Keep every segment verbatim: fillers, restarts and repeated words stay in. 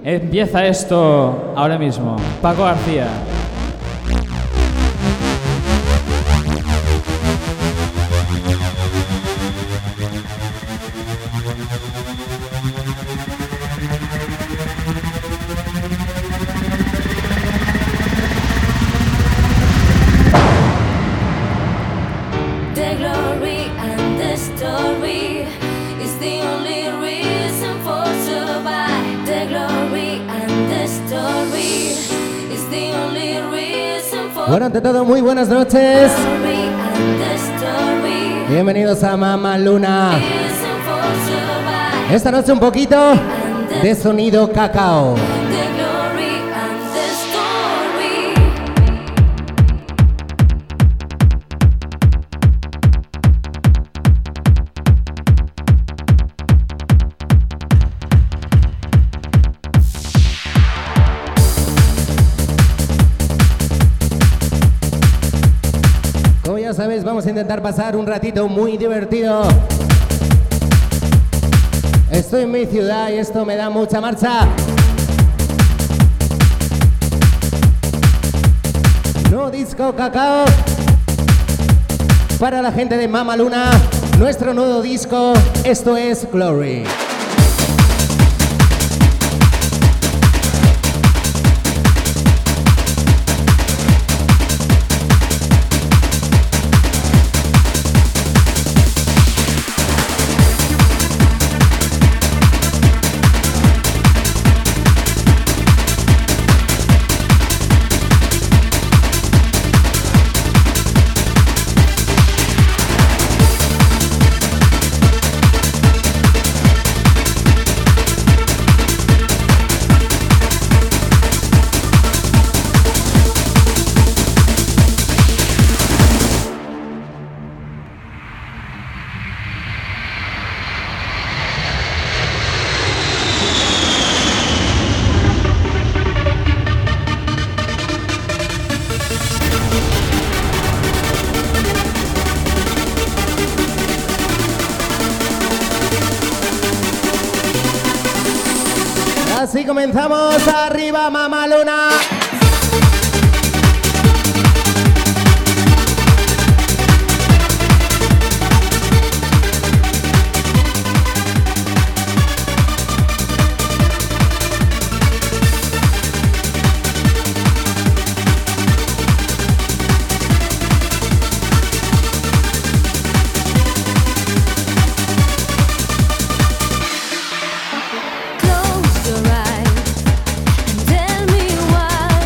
Empieza esto ahora mismo. Paco García. Bueno, ante todo, muy buenas noches. Bienvenidos a Mama Luna. Esta noche un poquito de sonido cacao. Ya sabes, vamos a intentar pasar un ratito muy divertido. Estoy en mi ciudad y esto me da mucha marcha. No disco cacao para la gente de Mama Luna. Nuestro nuevo disco, esto es Glory. Así comenzamos, arriba Mama Luna. Close your eyes and tell me why.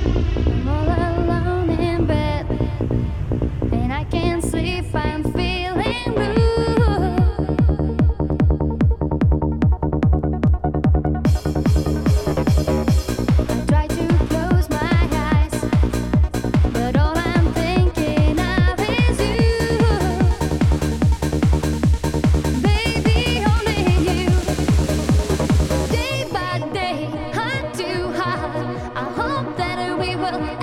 I'm all alone in bed, and I can't sleep, I'm feeling blue. I try to close my eyes, but all I'm thinking of is you. Baby, only you. Day by day, heart to heart, I hope that we will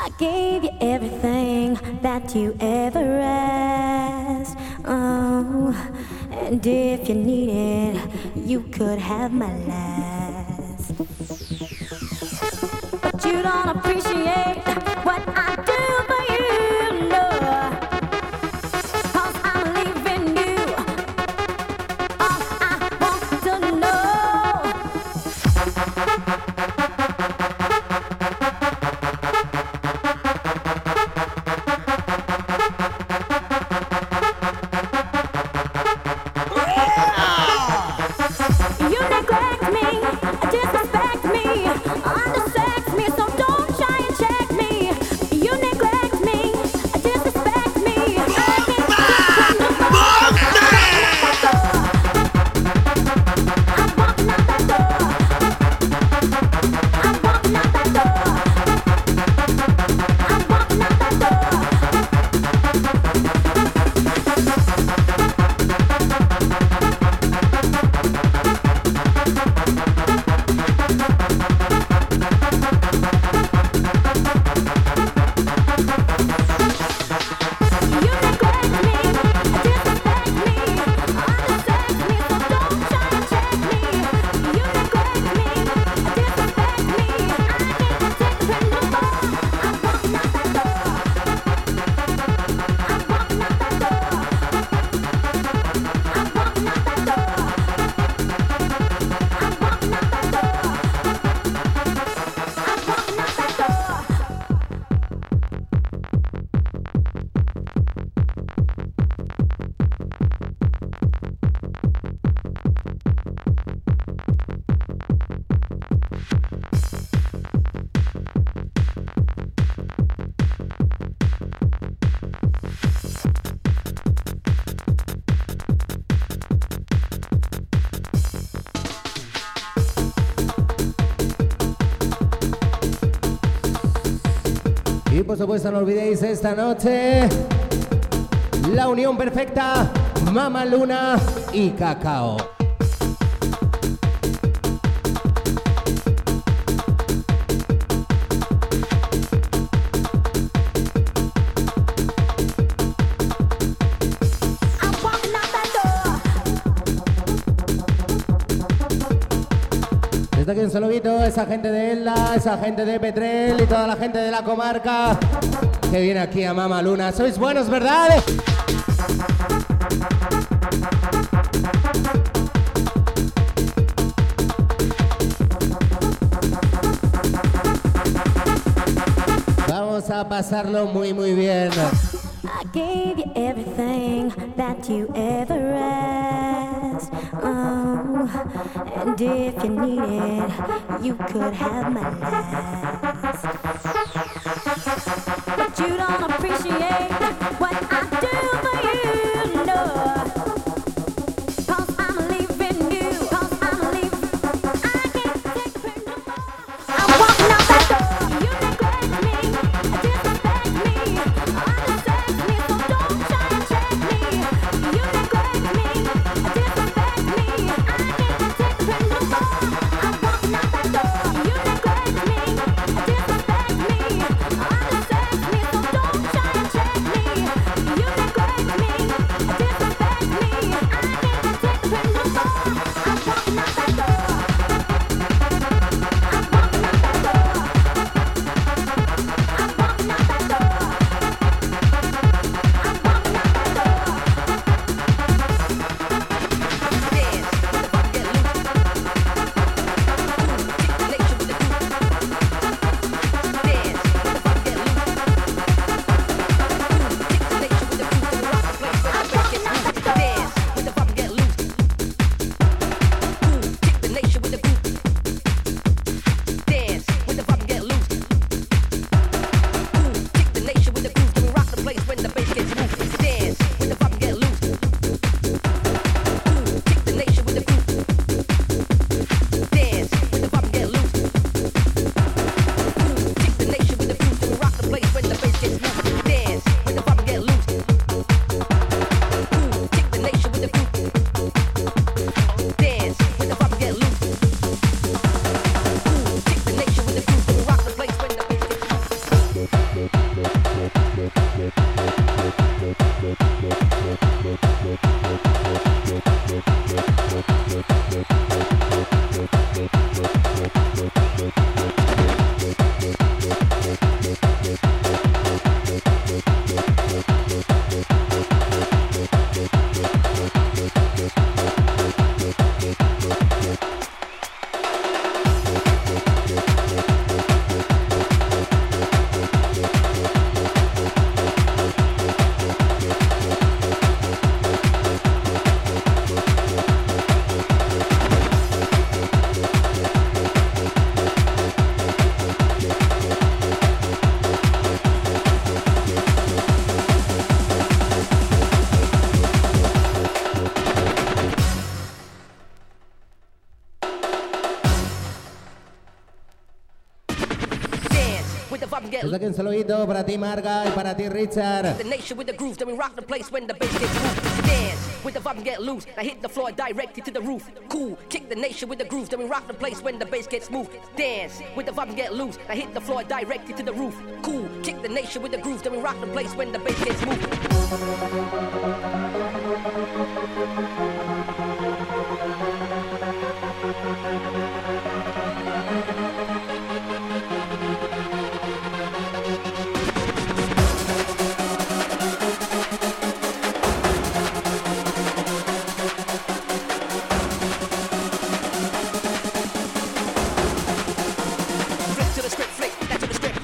I gave you everything that you ever asked. Oh, and if you needed, you could have my last. But you don't appreciate what I do for you, no. 'Cause I'm leaving you. All I want to know. You neglect me, disrespect me, undersex me, so don't try and check me. You neglect me, disrespect me, I can't I'm walking out that door. I'm walking out that door. I'm walking out that door. You neglect me, disrespect me, undersex me, so don't try and check me. You neglect me, disrespect me, I can't protect you no more. I'm walking out that door. I'm walking out that door. I'm walking out that door. I'm walking out that door. I'm walking out that door. Y por supuesto no olvidéis esta noche la unión perfecta, Mama Luna y Cacao. I'm walking out that door. Desde aquí un saludito a esa gente de Elda, esa gente de Petrel y toda la gente de la comarca que viene aquí a Mama Luna. Sois buenos, ¿verdad? Vamos a pasarlo muy muy bien. I gave you everything that you ever asked. Oh, and if you needed, you could have my last. But you don't appreciate what I do for you, no. 'Cause I'm leaving you, 'cause I'm leaving. I can't take it no more. I'm walking out that door. You neglect me, disrespect me, undersex me, so don't try and check me. You neglect me, disrespect me, I can't take it no more. I'm walking out that door. You neglect me, disrespect me, undersex me, so don't try and check me. You get Desde aquí un saludito para ti, Marga, y para ti, Richard. the nation with the groove, then we rock the place when the bass gets moved. Dance with the vibe and get loose. I hit the floor directly to the roof. Cool, kick the nation with the groove, then we rock the place when the bass gets moved. Dance with the vibe and get loose. I hit the floor directly to the roof. Cool, kick the nation with the groove, then we rock the place when the bass gets moved. Flip to the script, flick, that's to the script.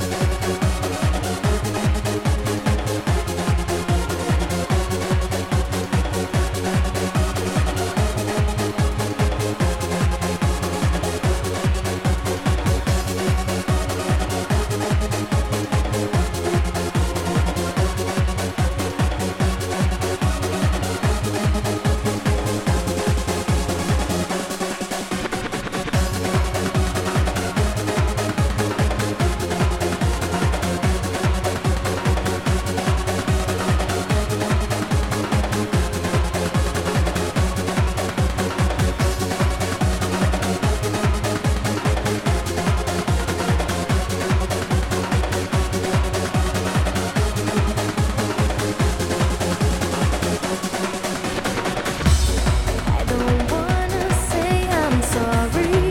I don't wanna say I'm sorry,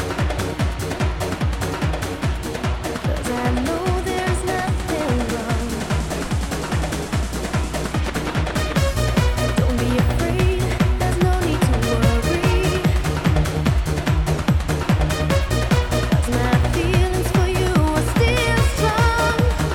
'cause I know there's nothing wrong. Don't be afraid, there's no need to worry, 'cause my feelings for you are still strong.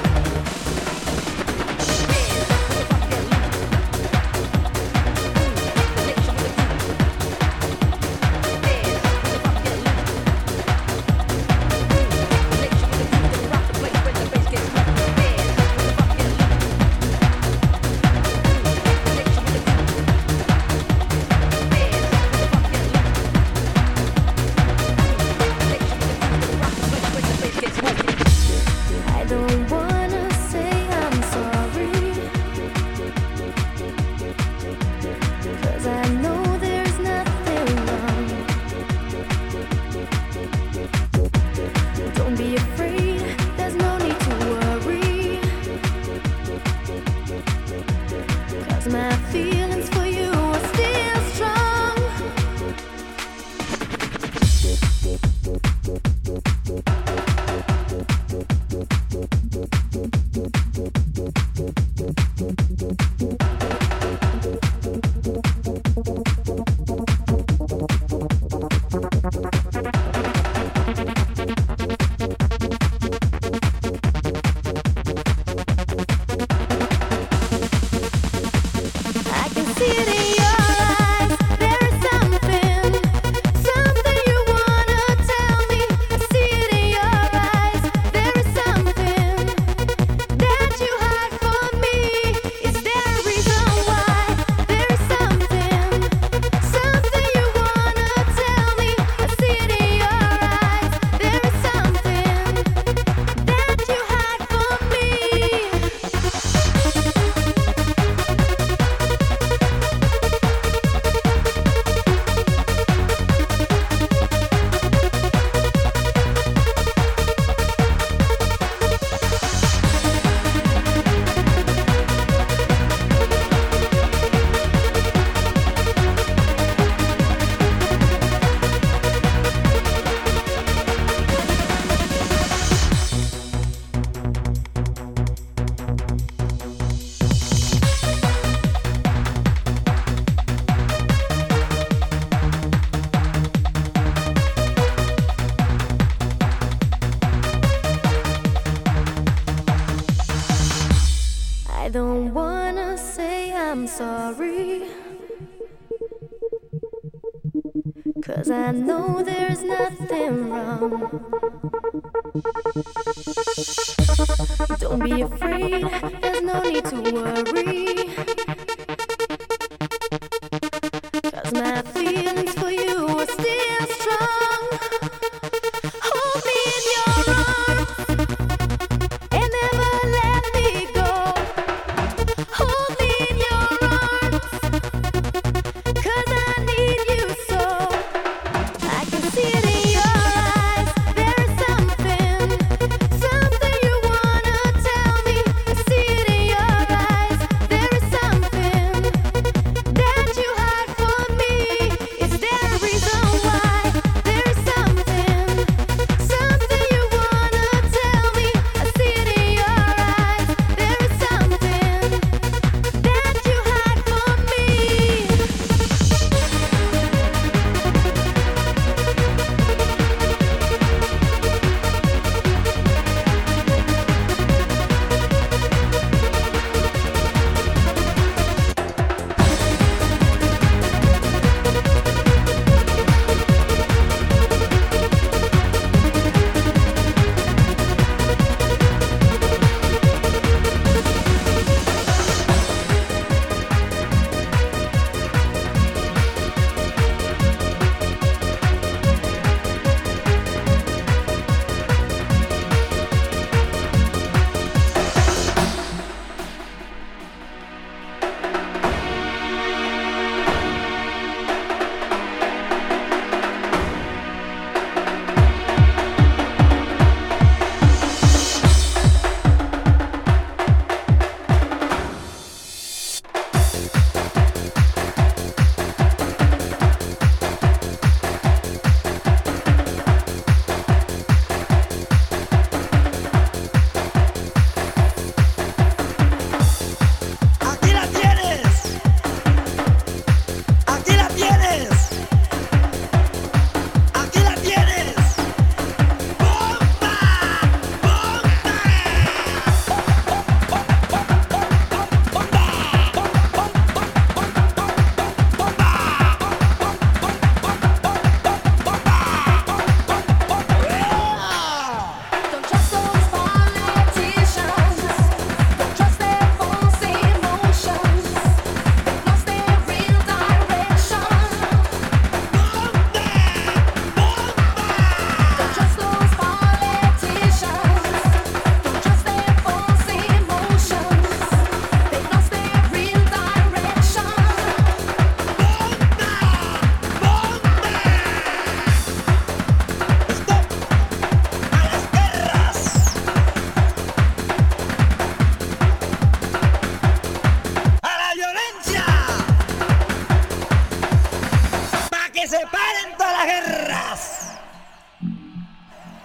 I don't wanna say I'm sorry, 'cause I know there's nothing wrong. Don't be afraid, there's no need to worry, 'cause my feelings for you are still strong. I can see it in your eyes. There is something, something you wanna tell me. I see it in your eyes. There is something that you hide from me. Is there a reason why? There is something, something you wanna tell me. I see it in your eyes. There is something that you hide from me. I don't wanna say I'm sorry, 'cause I know there's nothing wrong. Don't be afraid, there's no need to worry, 'cause my feelings for you are still strong. Hold me in your arms.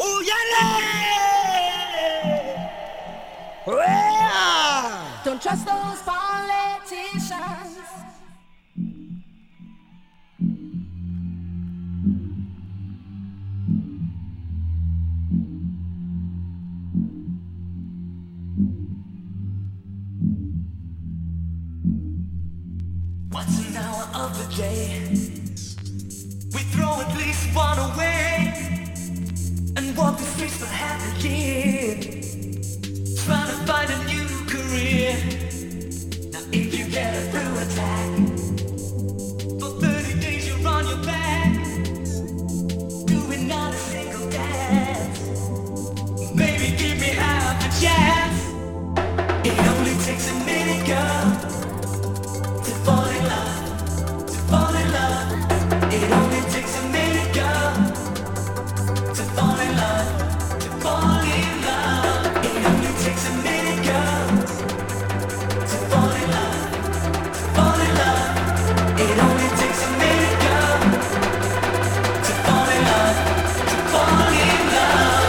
Don't trust those politicians. What's an hour of the day? We throw at least one away and walk the streets for half a year, trying to find a new career. Now if you get a through attack, for thirty days you're on your back, doing not a single dance. Baby, give me half a chance. It only takes a minute, girl, to fall in love, to fall in love. It only takes a minute, girl, to fall in love, to fall in love. It only takes a minute, girl, to fall in love, to fall in love. It only takes a minute, girl, to fall in love, to fall in love.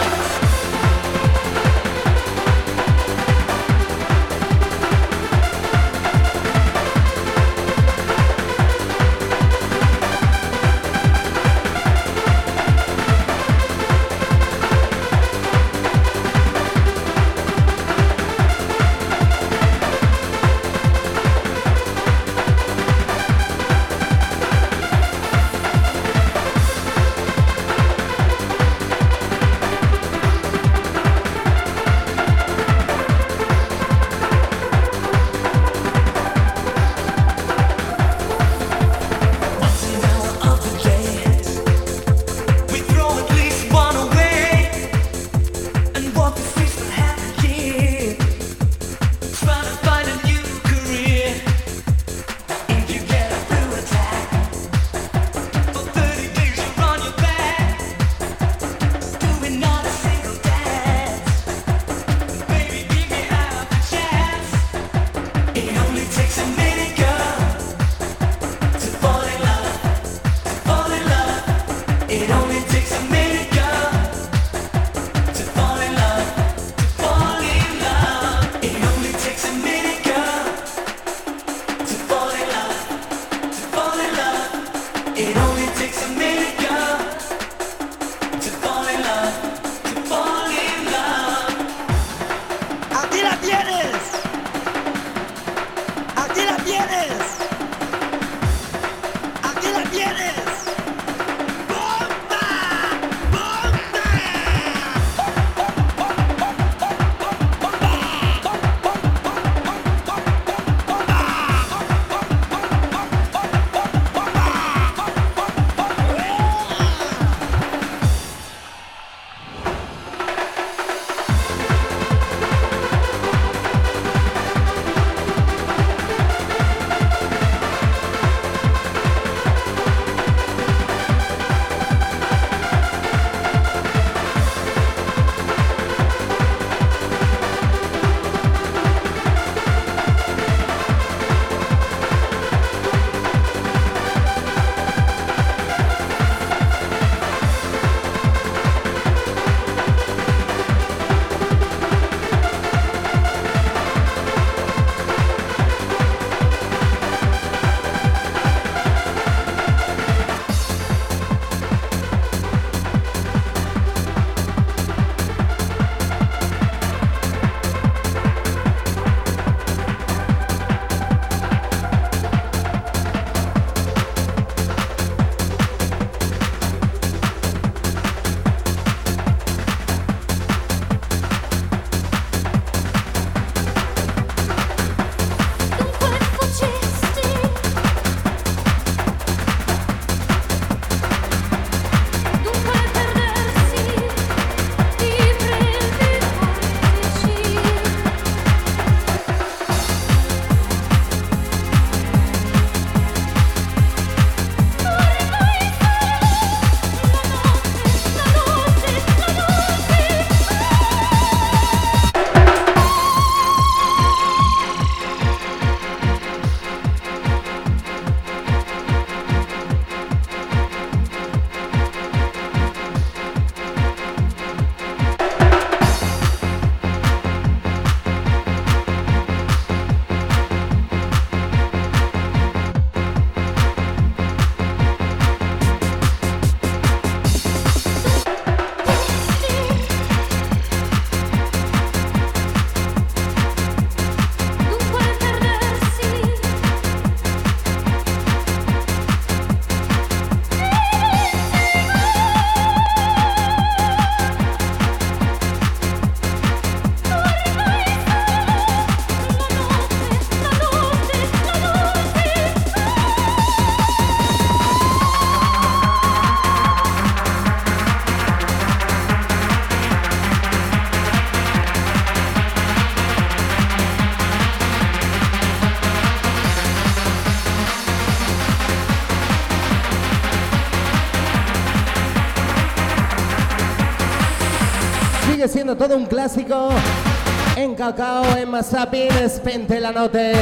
Sigue siendo todo un clásico. En Cacao, en Mazapin, Spente la Note.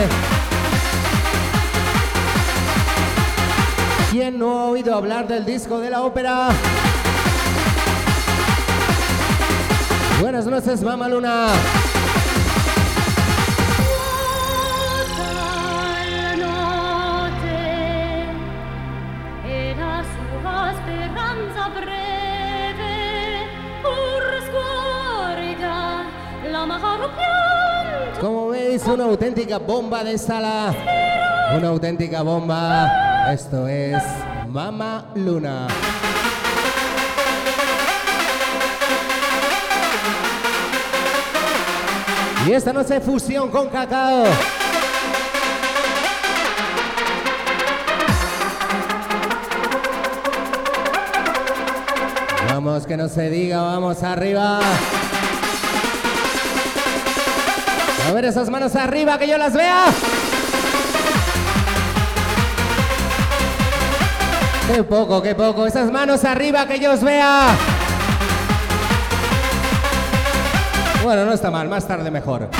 ¿Quién no ha oído hablar del disco de la ópera? Buenas noches, Mama Luna. Como veis, una auténtica bomba de sala. Una auténtica bomba. Esto es Mama Luna. Y esta noche fusión con Cacao. Vamos, que no se diga, vamos arriba. A ver esas manos arriba, que yo las vea. Qué poco, qué poco. Esas manos arriba, que yo os vea. Bueno, no está mal, más tarde mejor.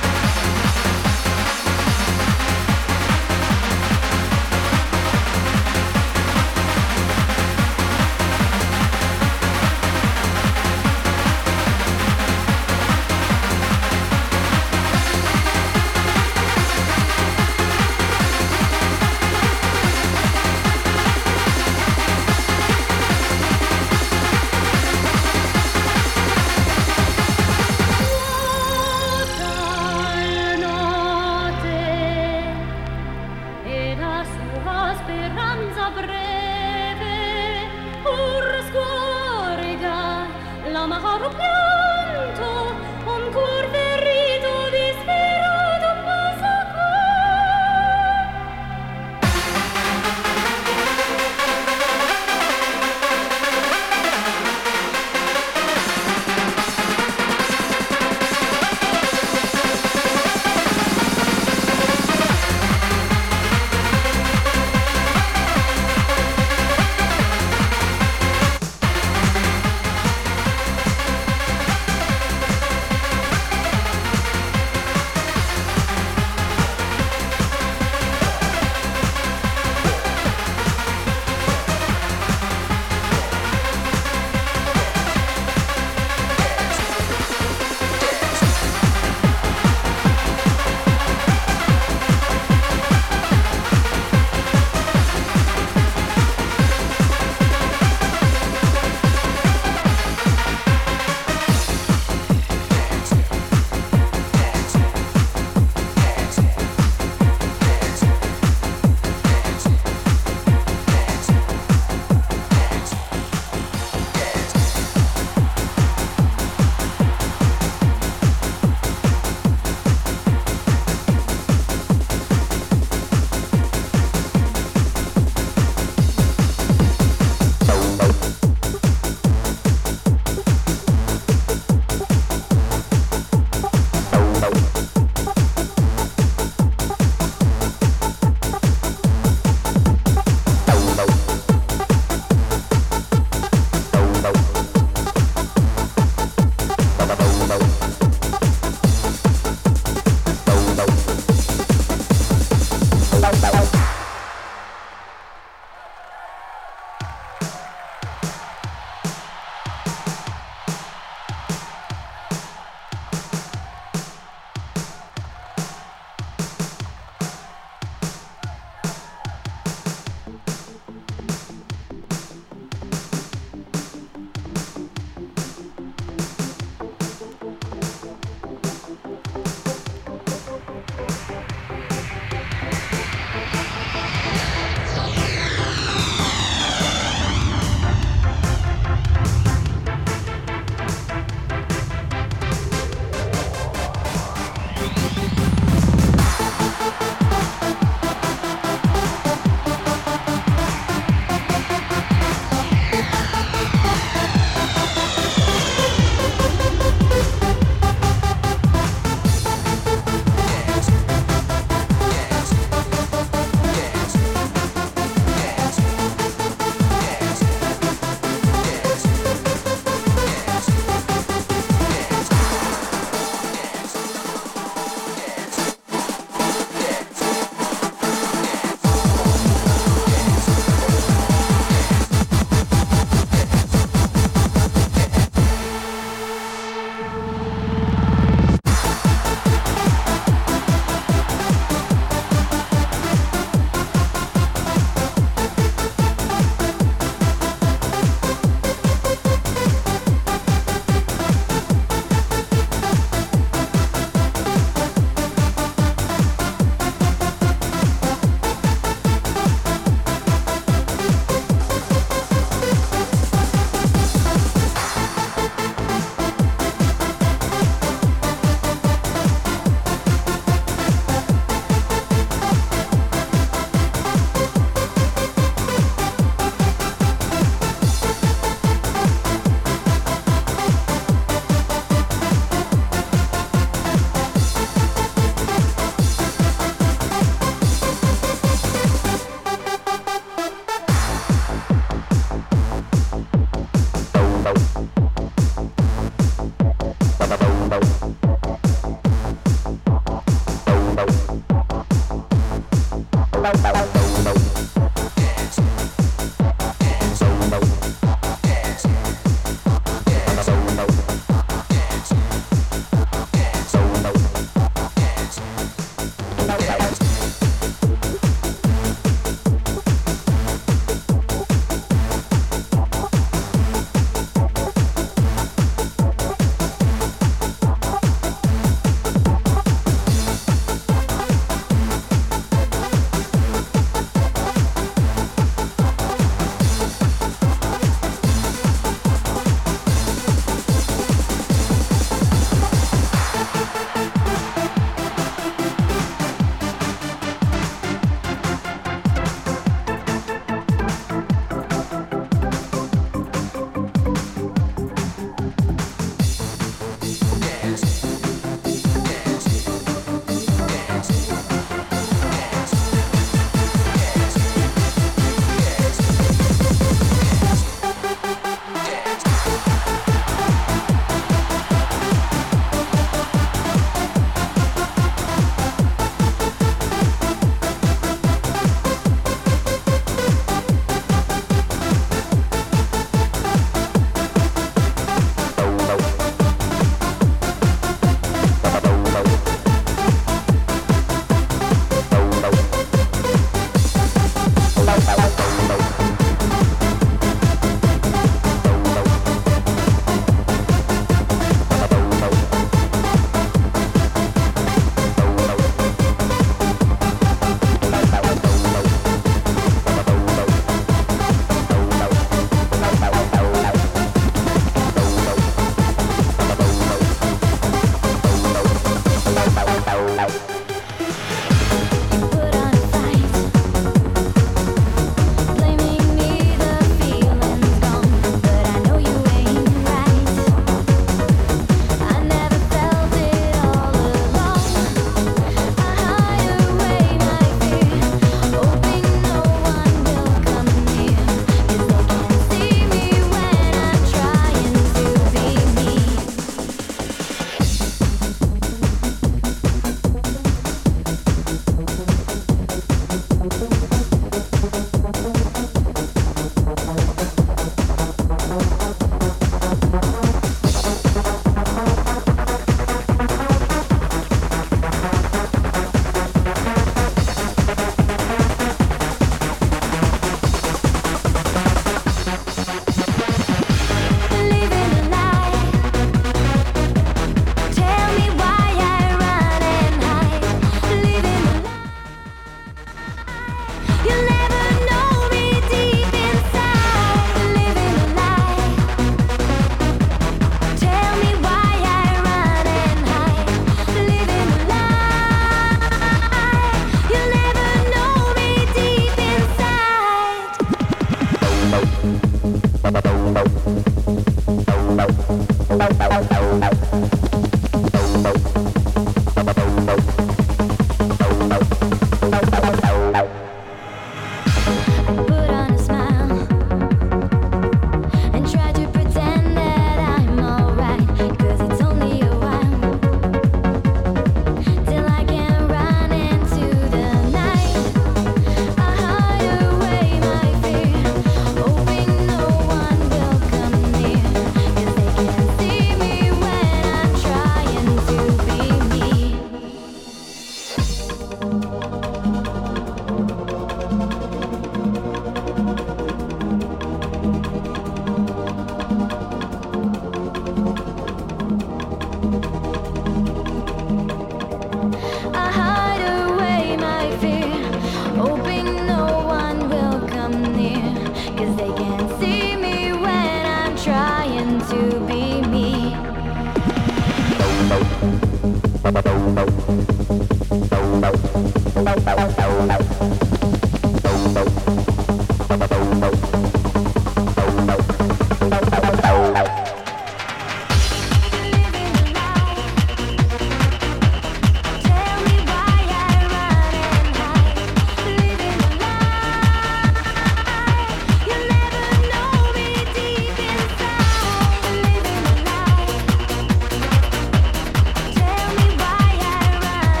Tell me why I run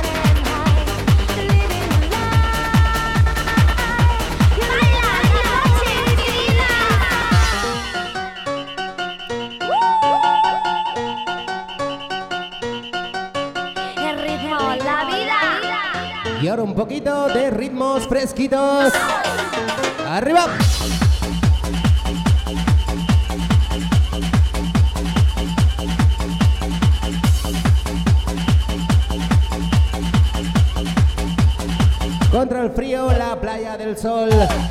Y ahora un poquito de ritmos fresquitos. ¡Arriba! Contra el frío, la playa del sol.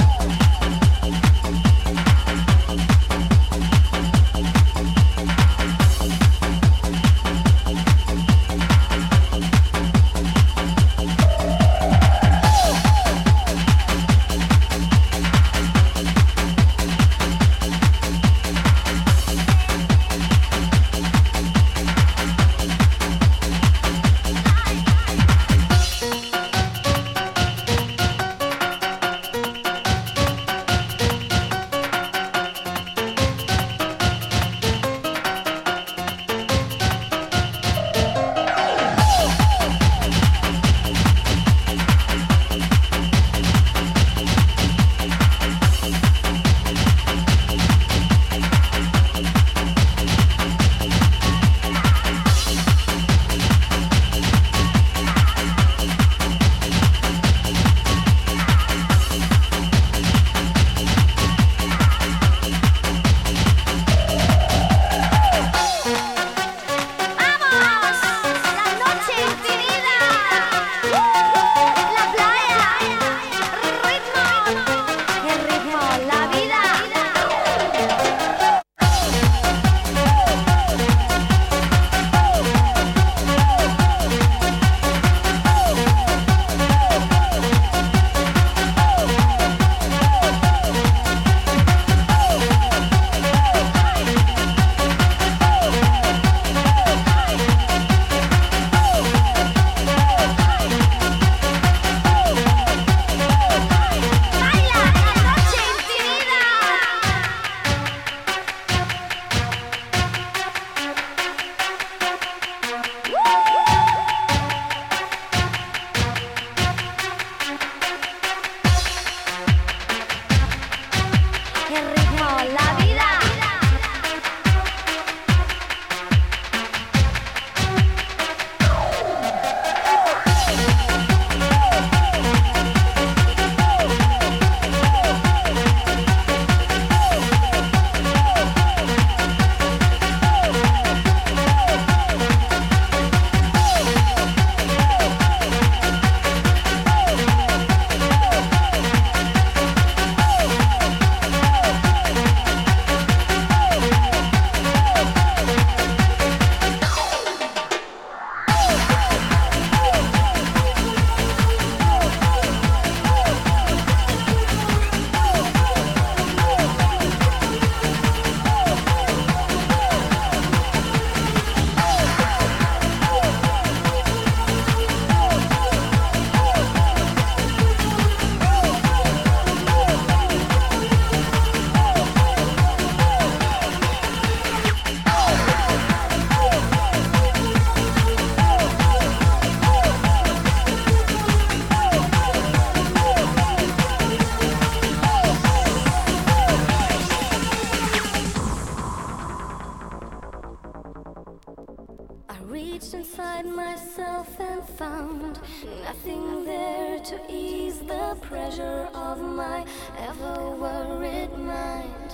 reached inside myself and found nothing there to ease the pressure of my ever-worried mind.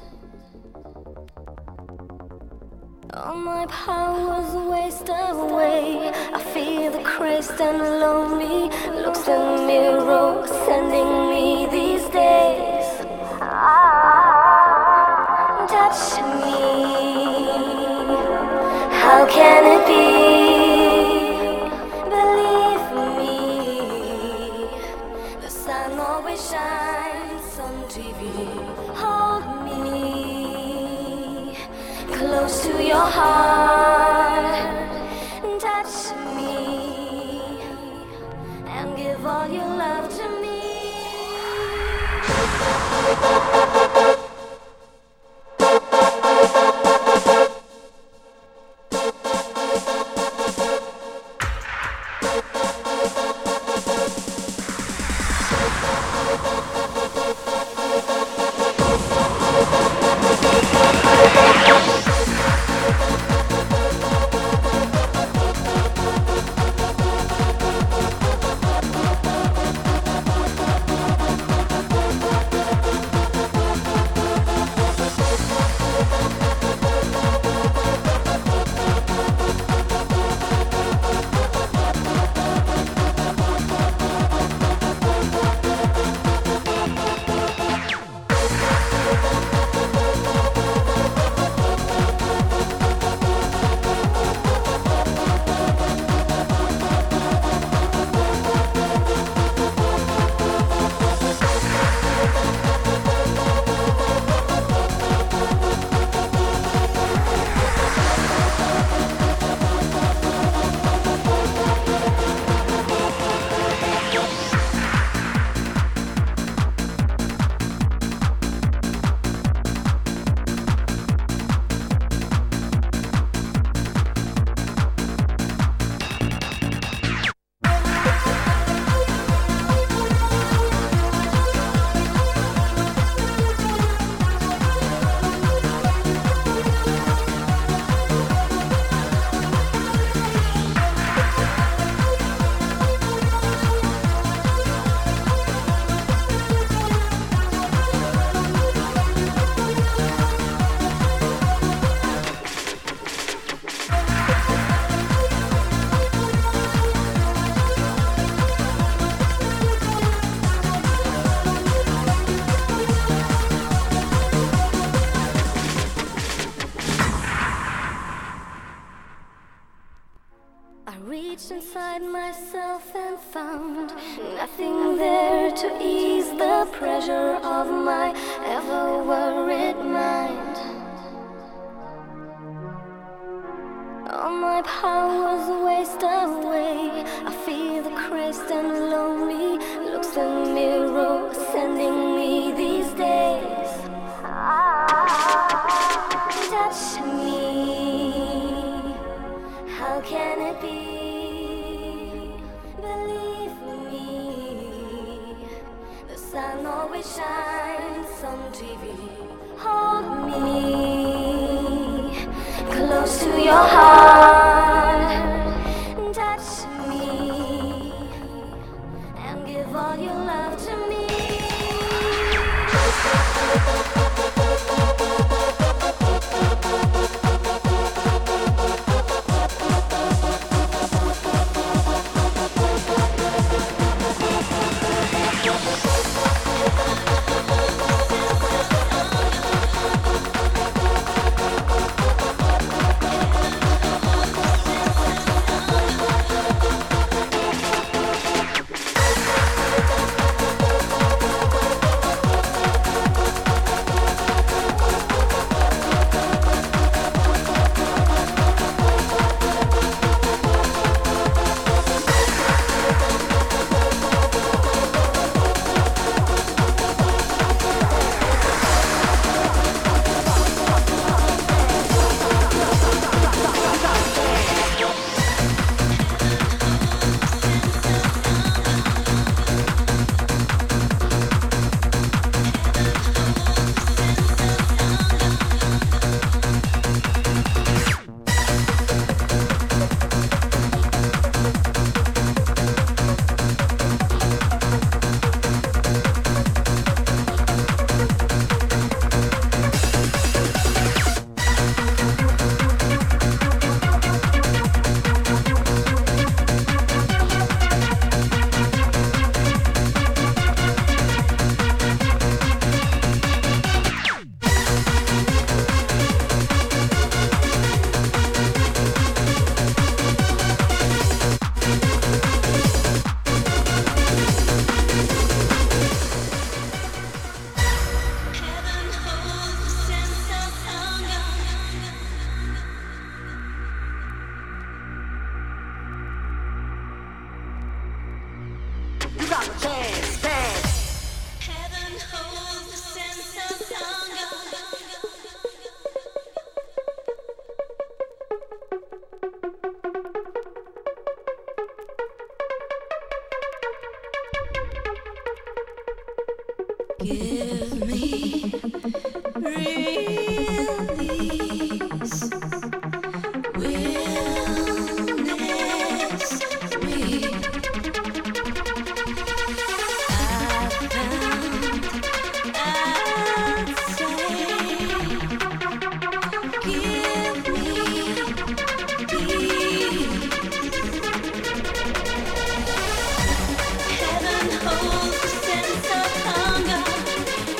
All my powers waste away. I feel the crazed and lonely looks in the mirror sending me these days. Touch me. How can it be? Believe me, the sun always shines on T V. Hold me close to your heart, touch me, and give all your love to me. found nothing there to ease the pressure of my ever worried mind. All my powers waste away. I feel the crazed and lonely looks in the mirror sending me these days. Touch me, how can it be? Believe me, the sun always shines on T V. Hold me close to your heart, touch me and give all your love to me. Give me release. Wellness me. I found I'd say, give me peace. Heaven holds a sense of hunger.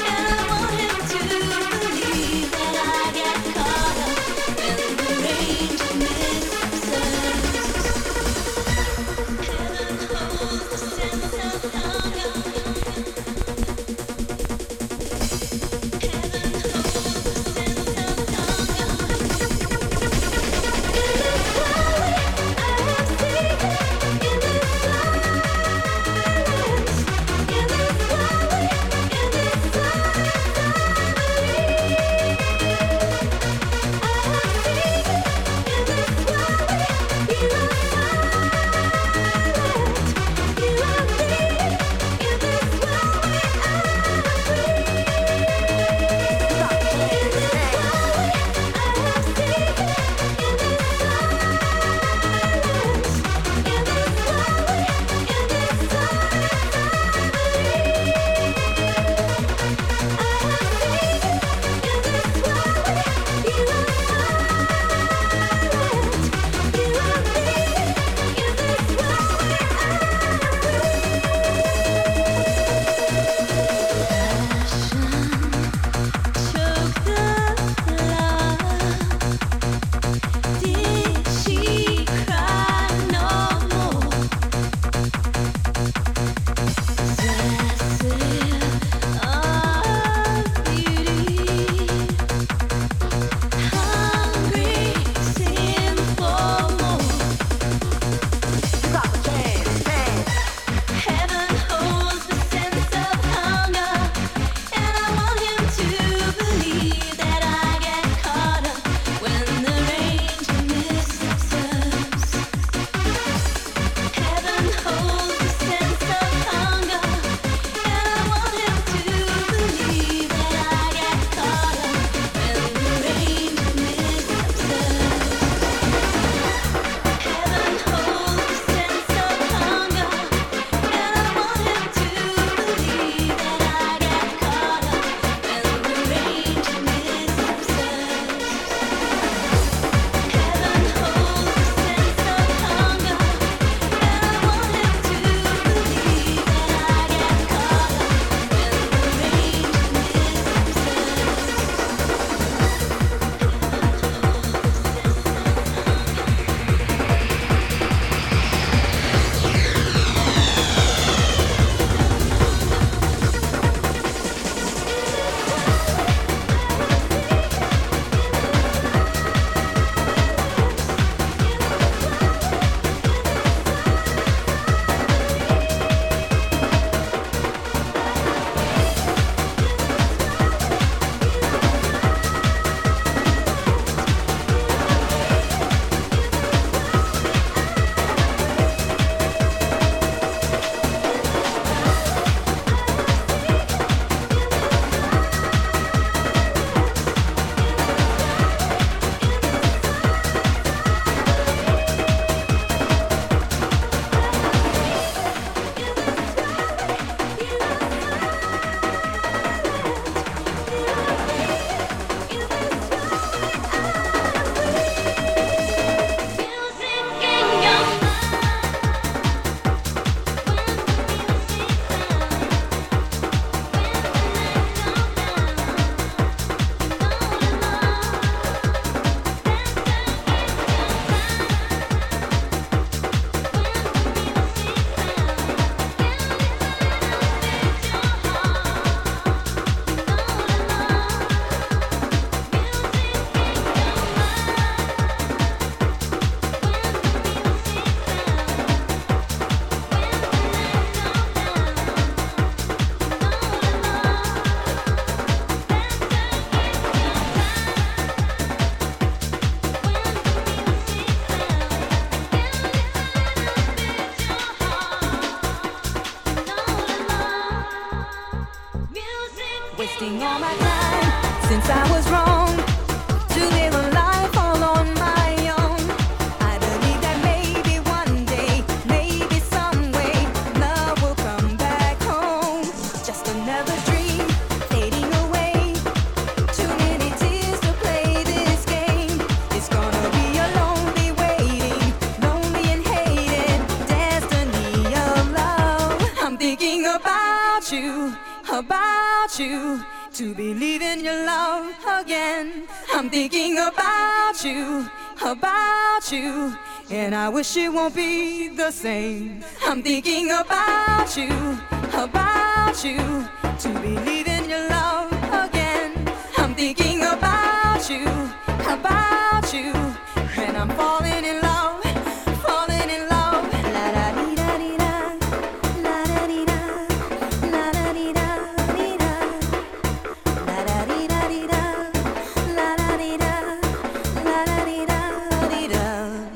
wasting all my time since I was wrong to live a life all on my own. I believe that maybe one day, maybe some way, love will come back home. Just another dream fading away. Too many tears to play this game. It's gonna be a lonely waiting, lonely and hated destiny of love. I'm thinking about you, about you, to believe in your love again. I'm thinking about you, about you, and I wish it won't be the same. I'm thinking about you, about you, to believe in your love again. I'm thinking about you, about you, and I'm falling in love, falling in love. La da dee da dee da, la da dee da, la da dee da dee da, la da dee da dee da, la da dee da, la da dee da dee da.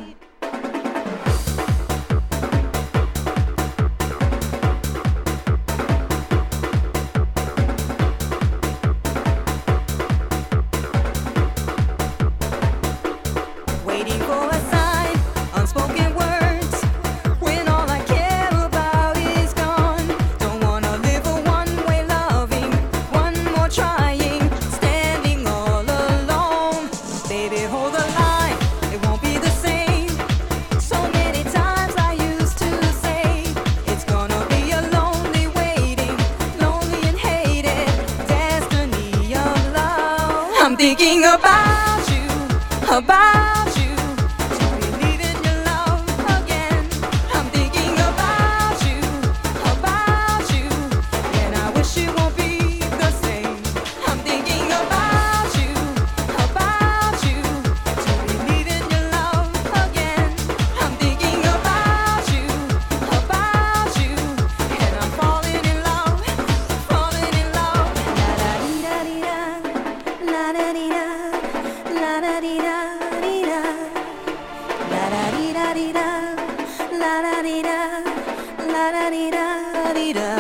Waiting for a sign, unspoken words, when all I care about is gone. Don't wanna live a one-way loving, one more trying, standing all alone. Baby, hold the line, it won't be the same. So many times I used to say, it's gonna be a lonely waiting, lonely and hated destiny of love. I'm thinking about you, about you, to believe in your love again. I'm thinking about you, about you, and I wish it won't be the same. I'm thinking about you, about you, to believe in your love again. I'm thinking about you, about you, and I'm falling in love, falling in love. La da dee da dee da, la da dee da, la da dee da dee da, la da dee da dee da, la da dee da, la da dee da dee da.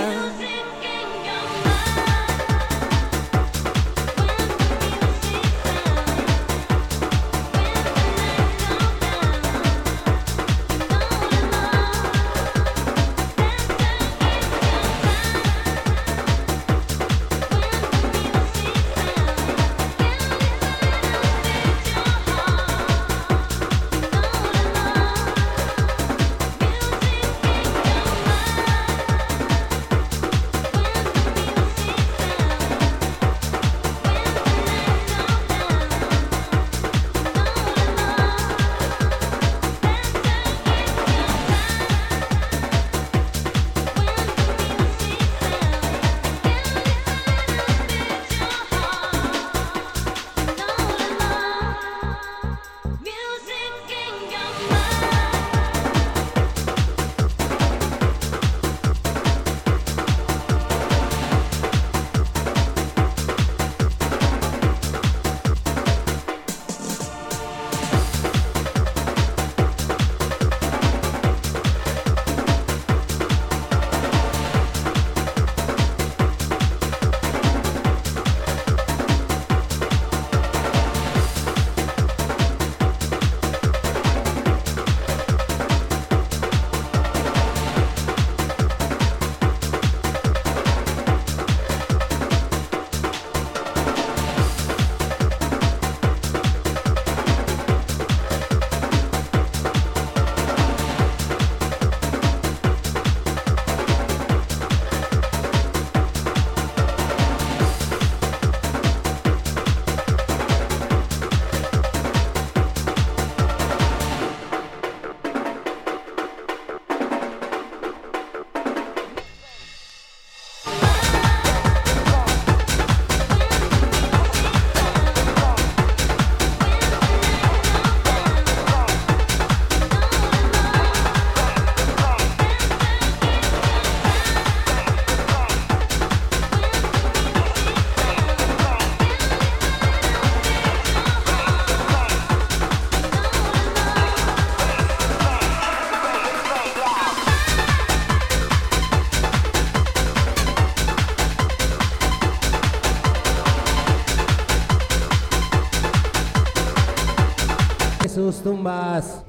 tus tumbas.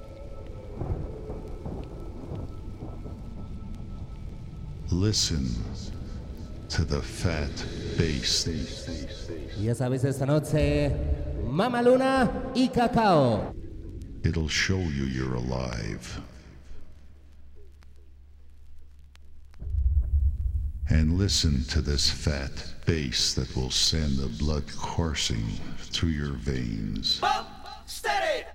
Listen to the fat bass. Y ya sabéis, esta noche, Mama Luna y Cacao. It'll show you you're alive. And listen to this fat bass that will send the blood coursing through your veins. Bump, steady.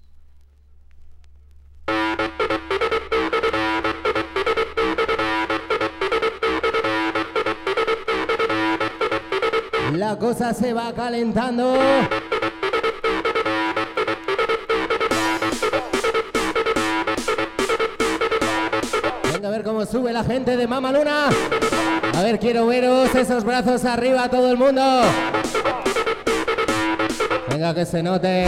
La cosa se va calentando. Venga a ver cómo sube la gente de Mama Luna. A ver, quiero veros esos brazos arriba, todo el mundo. Venga, que se note.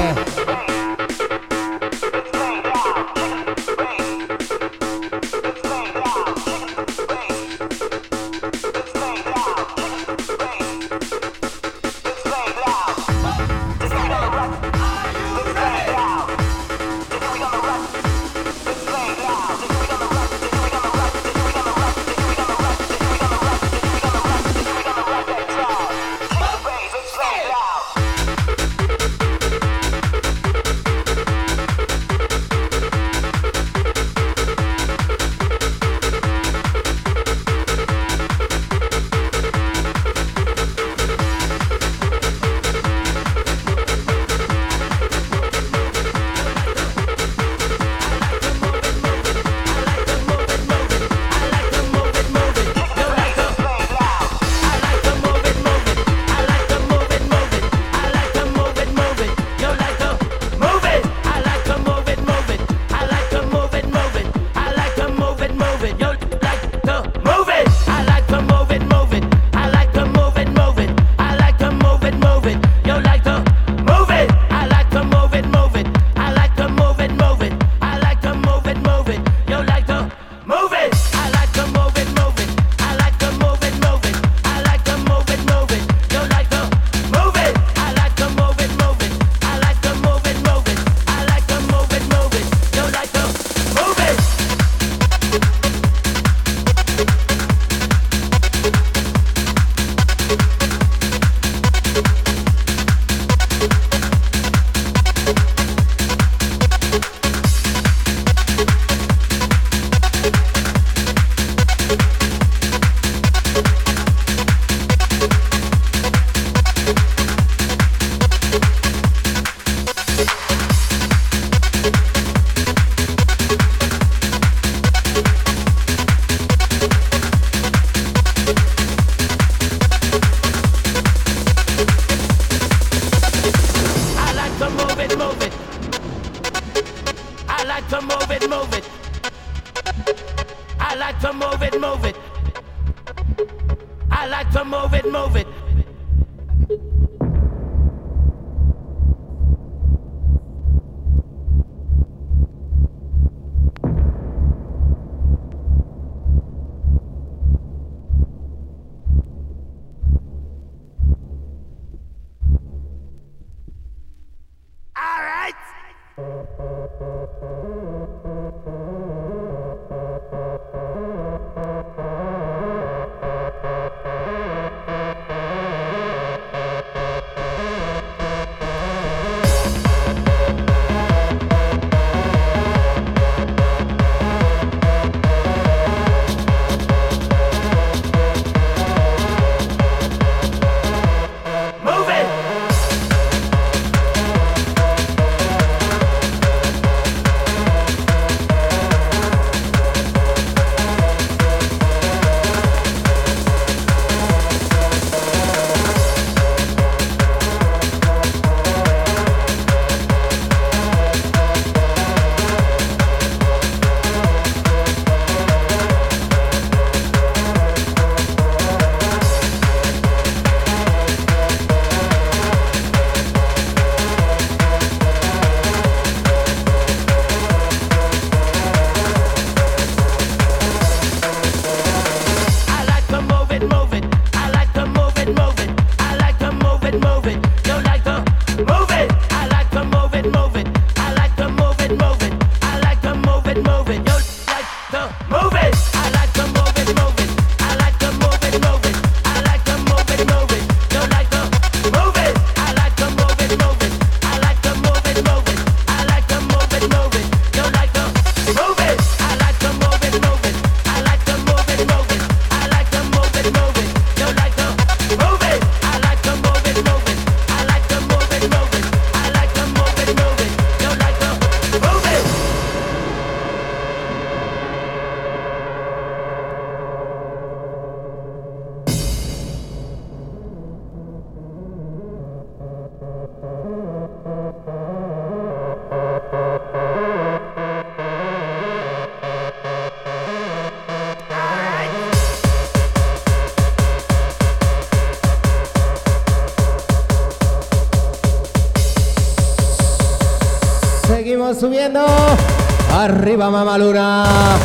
seguimos subiendo. Arriba, Mamaluna.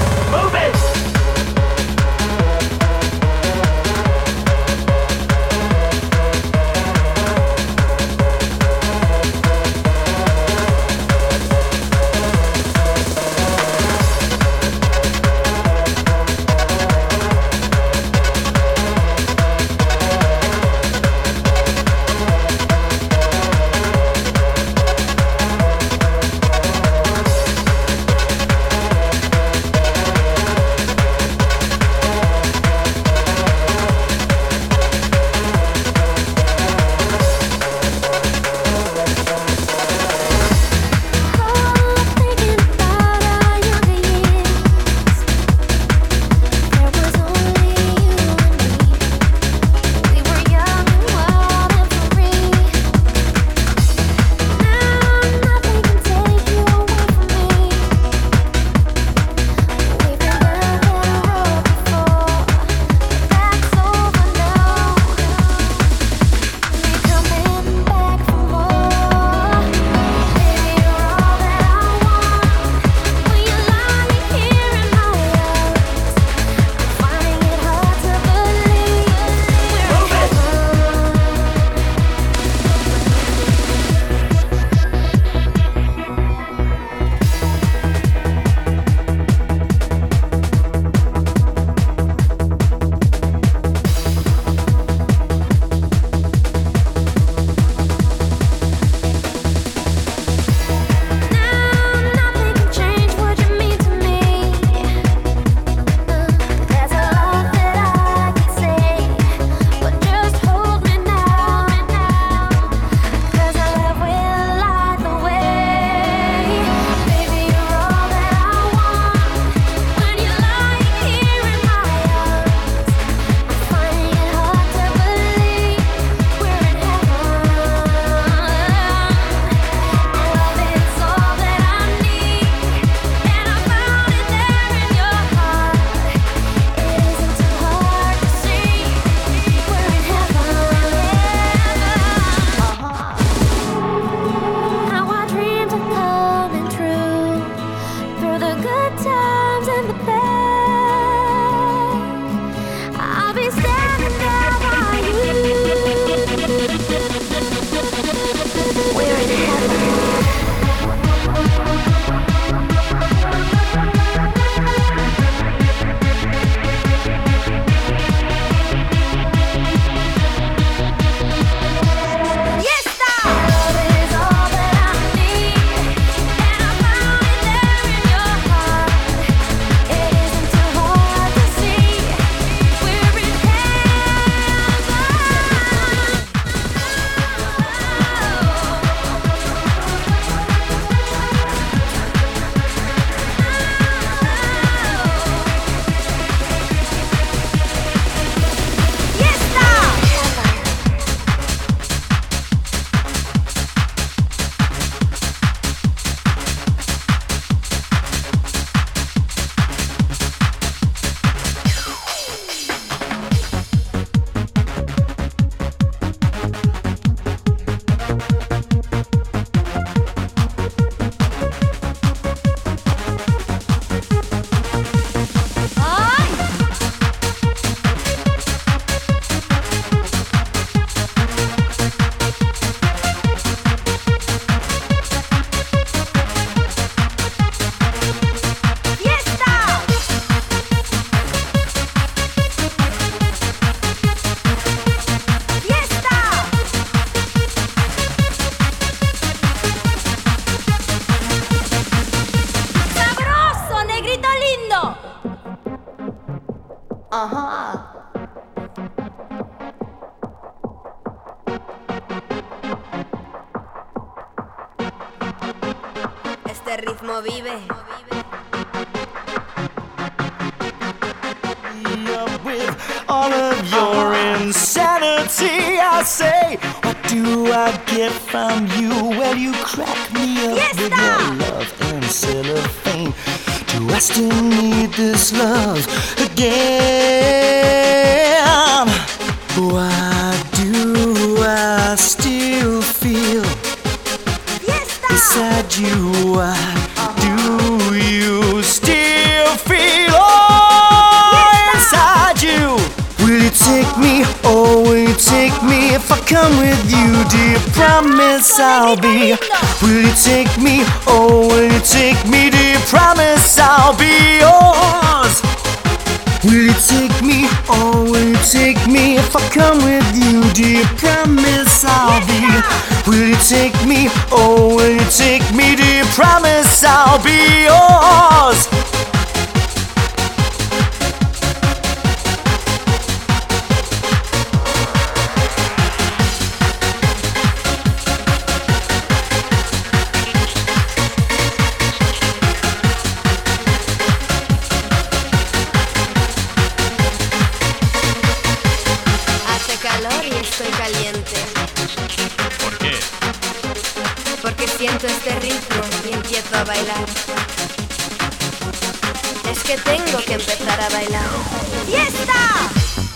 Ajá. Este ritmo vive. With all of your insanity, I say, what do I get from you? Well, you crack me up Yes, with sir. your love and cellophane. Do I still need this love again? Why do I still feel Yes, sir. beside you? Why come with you, dear, promise I'll be. Will you take me, oh, will you take me, dear, promise I'll be yours. Will you take me, oh, will you take me if I come with you, dear, promise I'll be. Will you take me, oh, will you take me, dear, promise I'll be yours. Estoy caliente. ¿Por qué? Porque siento este ritmo y empiezo a bailar. Es que tengo que empezar a bailar. ¡Fiesta!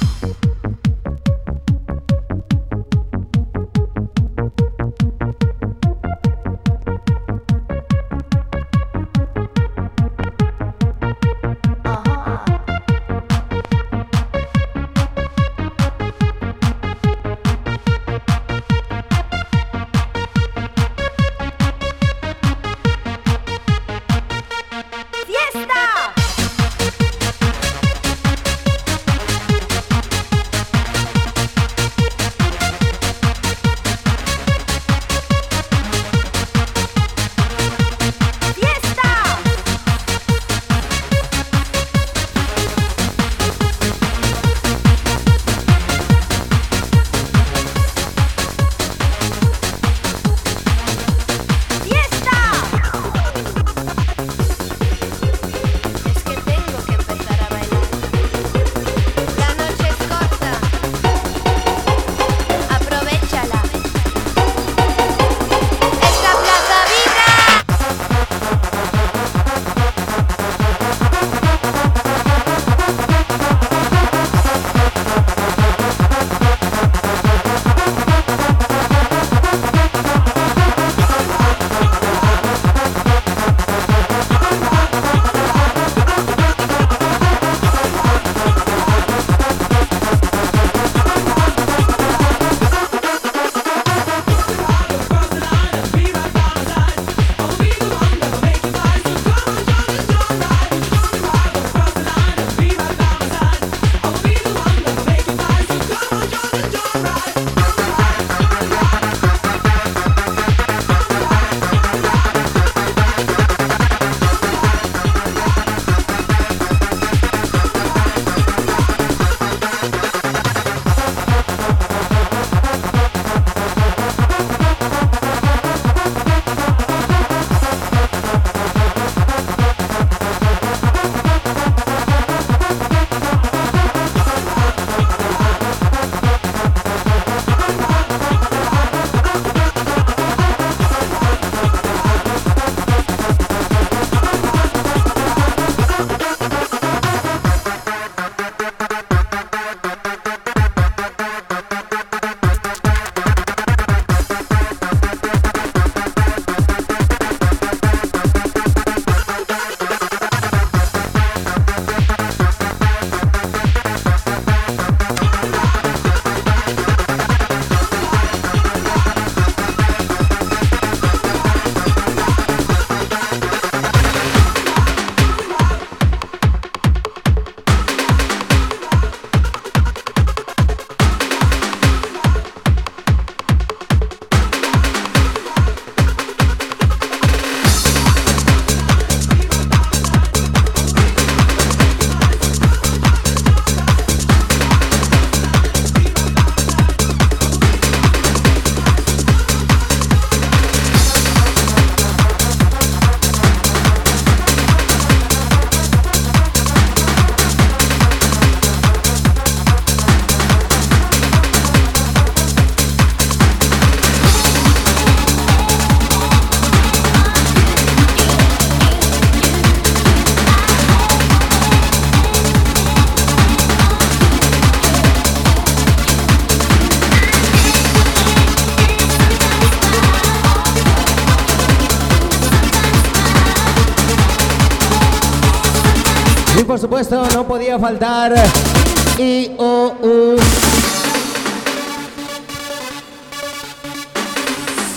Y por supuesto no podía faltar I O U.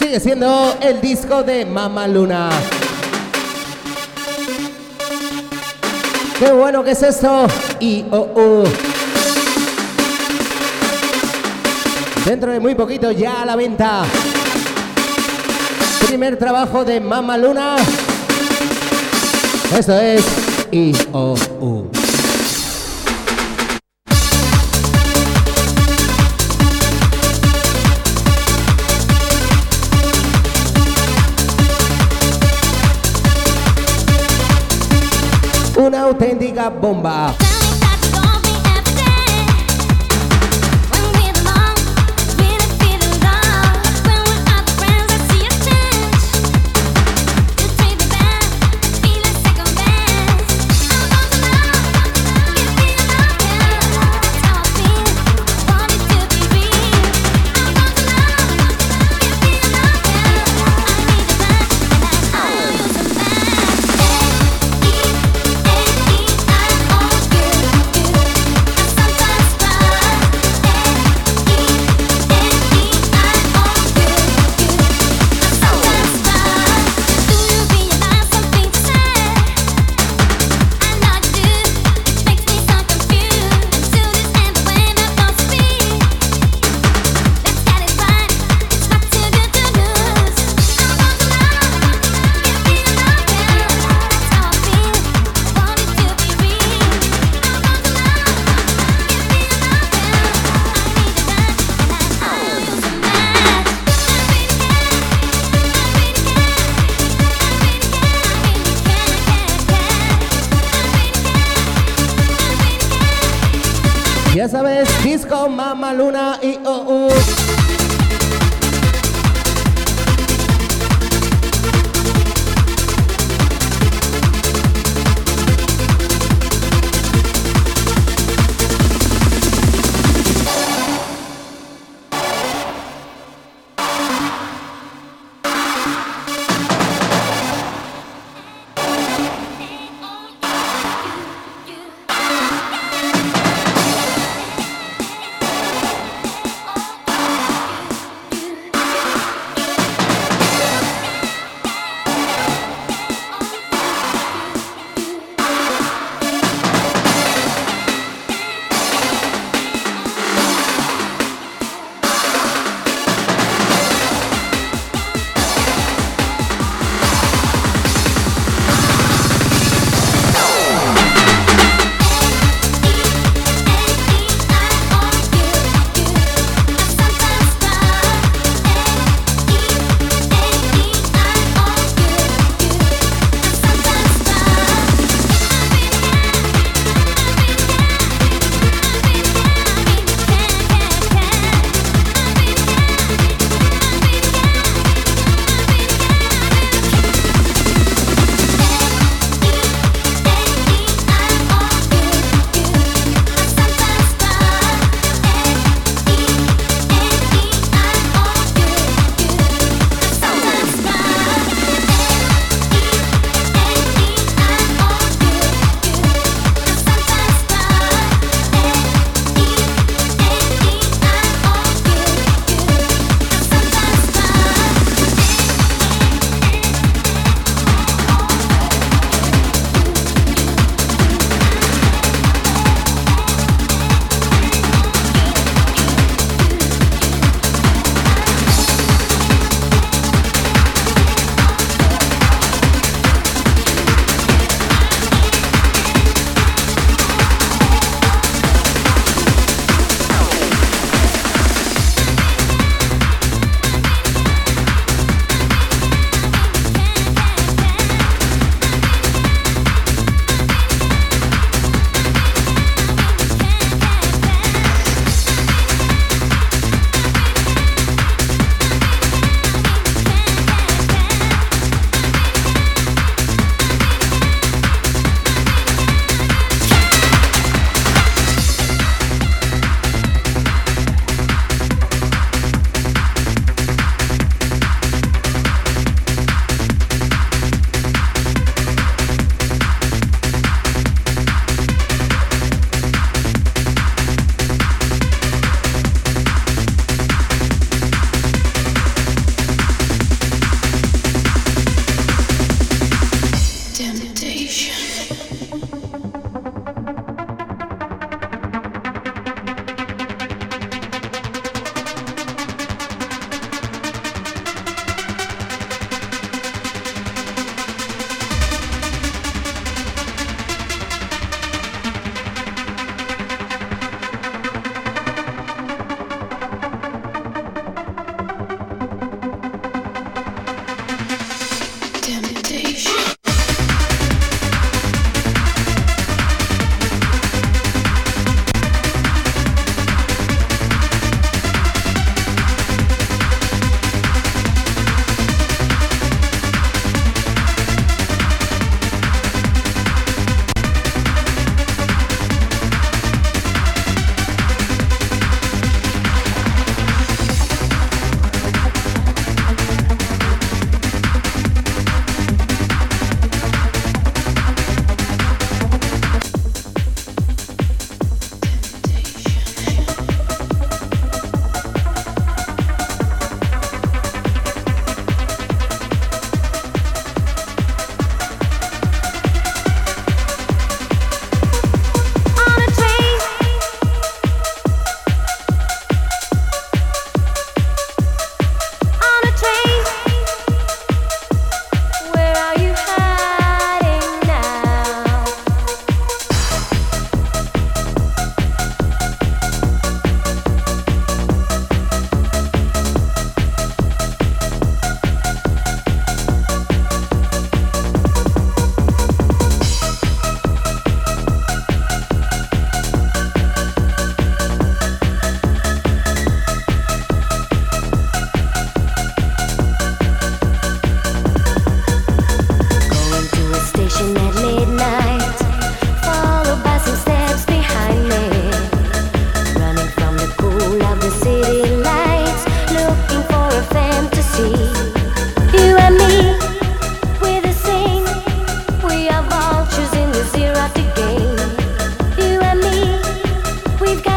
Sigue siendo el disco de Mama Luna. ¡Qué bueno que es esto! Y oh, oh. Dentro de muy poquito ya a la venta. Primer trabajo de Mama Luna. Esto es I O U. Una auténtica bomba. Ya sabes, disco Mama Luna y oh, uh.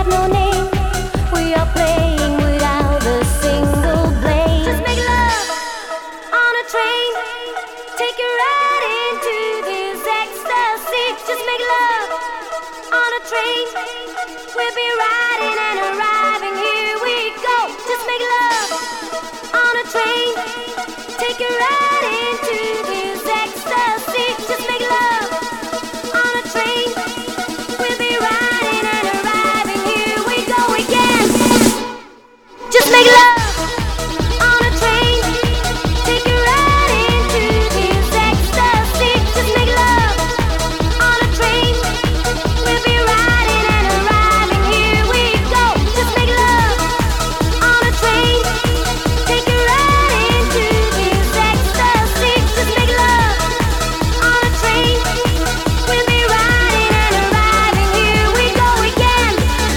no name. We are playing without a single blame. Just make love on a train. Take you right into this ecstasy. Just make love on a train. We'll be riding and arriving. Here we go. Just make love on a train. Take you right into this ecstasy. Just make love on a train. We'll be riding and arriving. Here we go again. Just make love on a train. Take you right into this ecstasy. Just make love on a train. We'll be riding and arriving. Here we go. Just make love on a train. Take you right into this ecstasy. Just make love on a train. We'll be riding and arriving. Here we go again.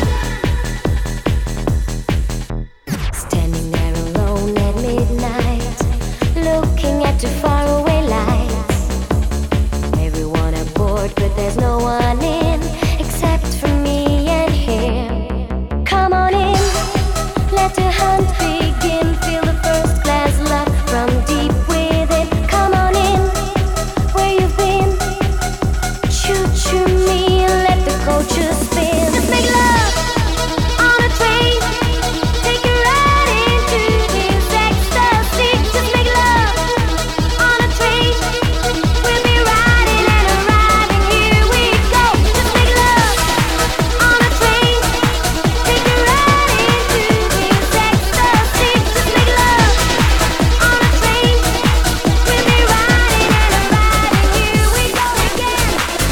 Standing there alone at midnight, looking at the faraway lights. Everyone aboard, but there's no one in except for me and him. Come on in, let the hunt begin. Feel the first class love from deep within. Come on in, where you've been. Choo choo me, let the coaches spin. Just make love on a train. Take you right into this ecstasy. Just make love on a train. We'll be riding and arriving. Here we go. Just make love on a train. Take you right into this ecstasy. Just make love on a train. We'll be riding and arriving. Here we go again.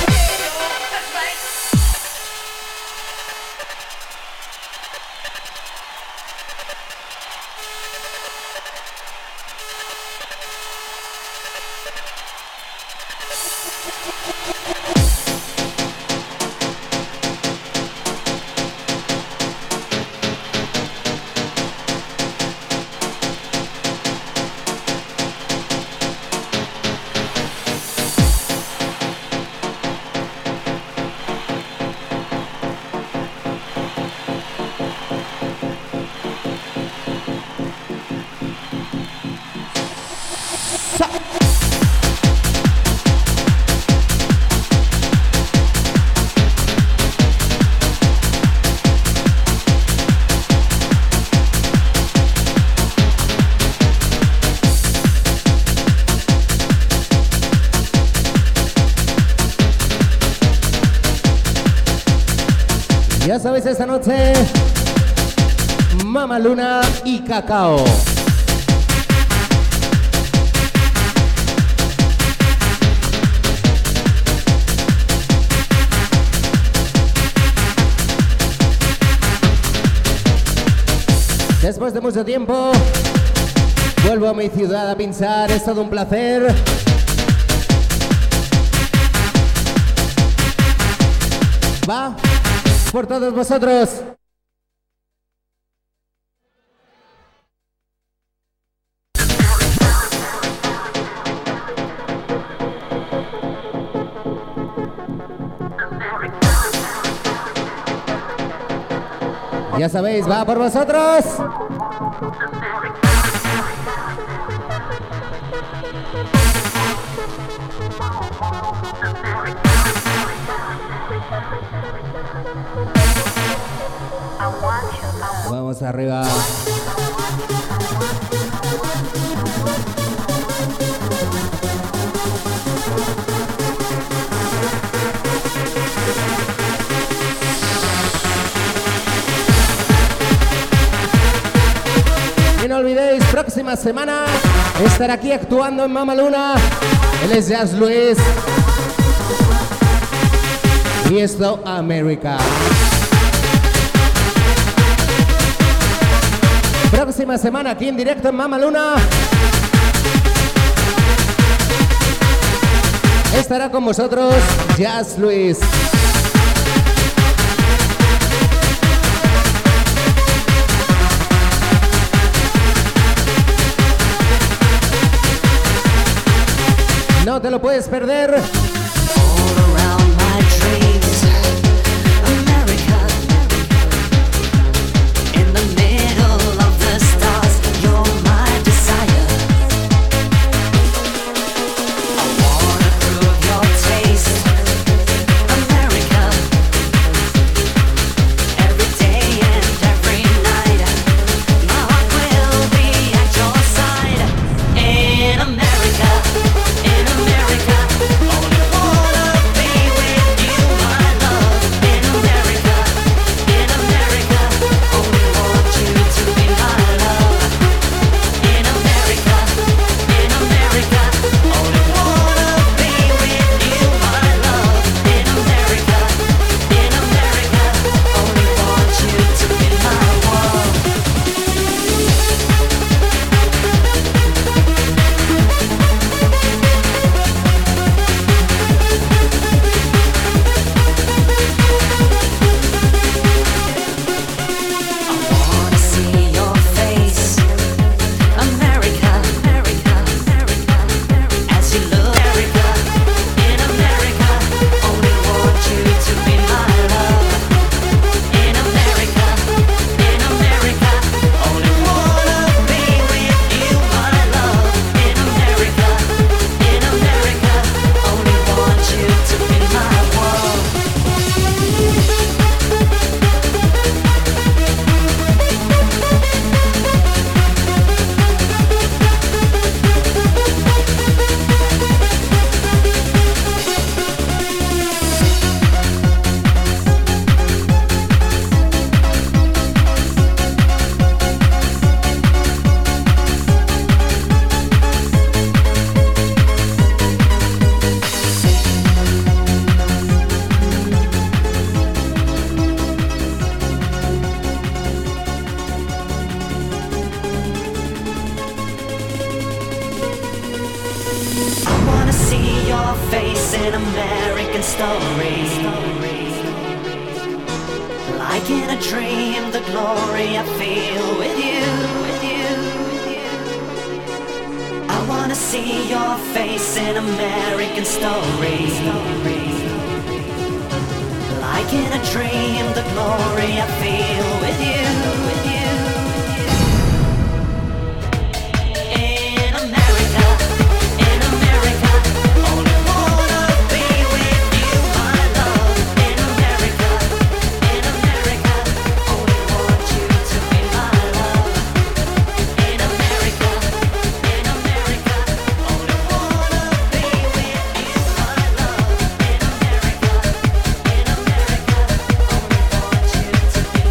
Ya sabéis, esta noche, Mama Luna y Cacao. Después de mucho tiempo, vuelvo a mi ciudad a pinchar, es todo un placer. Va por todos vosotros. Ya sabéis, va por vosotros. Vamos arriba. Y no olvidéis, próxima semana estará aquí actuando en Mama Luna. Él es Jazz Luis. Y esto, América. Próxima semana aquí en directo en Mama Luna estará con vosotros Jazz Luis. No te lo puedes perder. All around my dreams, America. face in American story. Like in a dream, the glory I feel with you, with you, with you. I wanna see your face in American story. Like in a dream, the glory I feel with you, with you. To be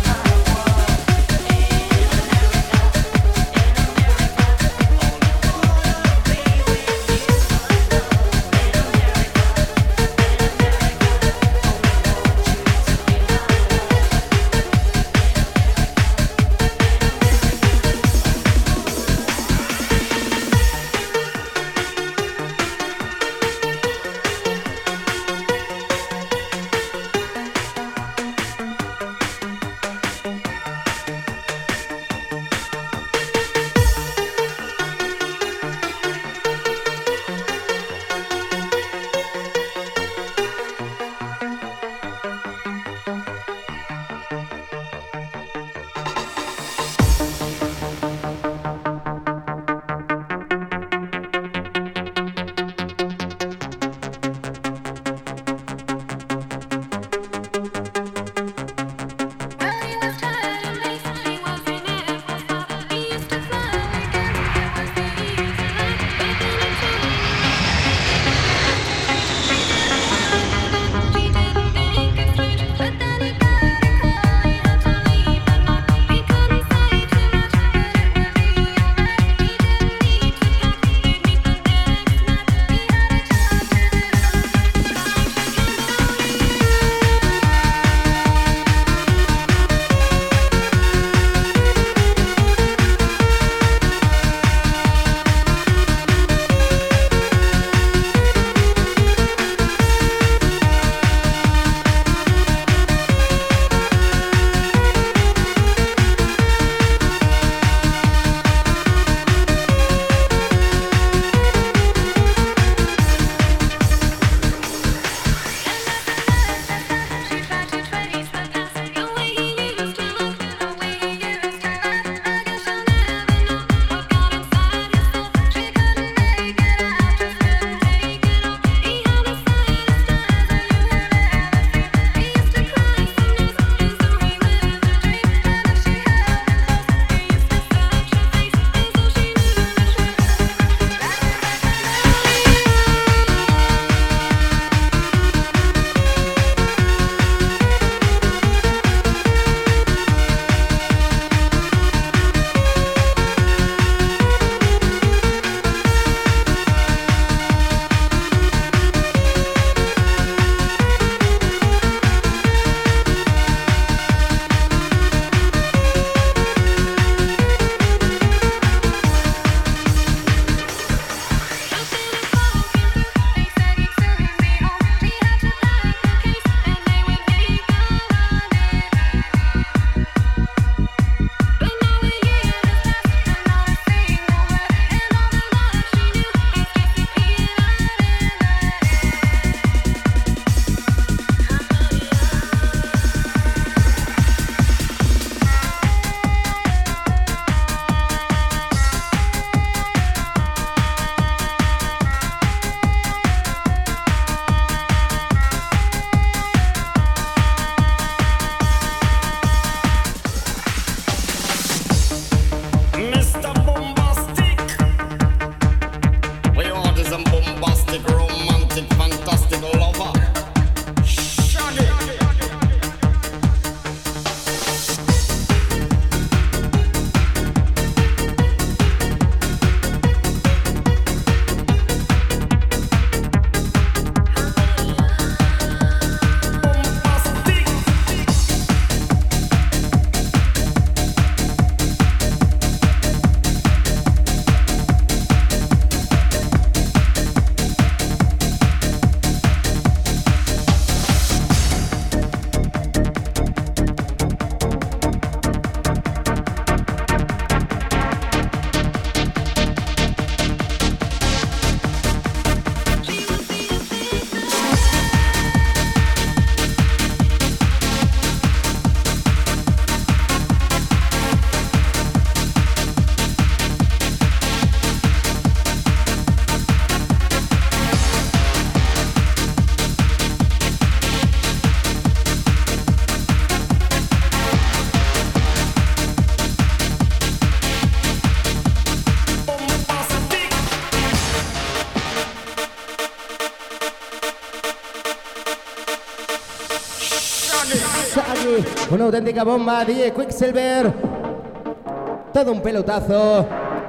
Una auténtica bomba, D J Quicksilver. Todo un pelotazo.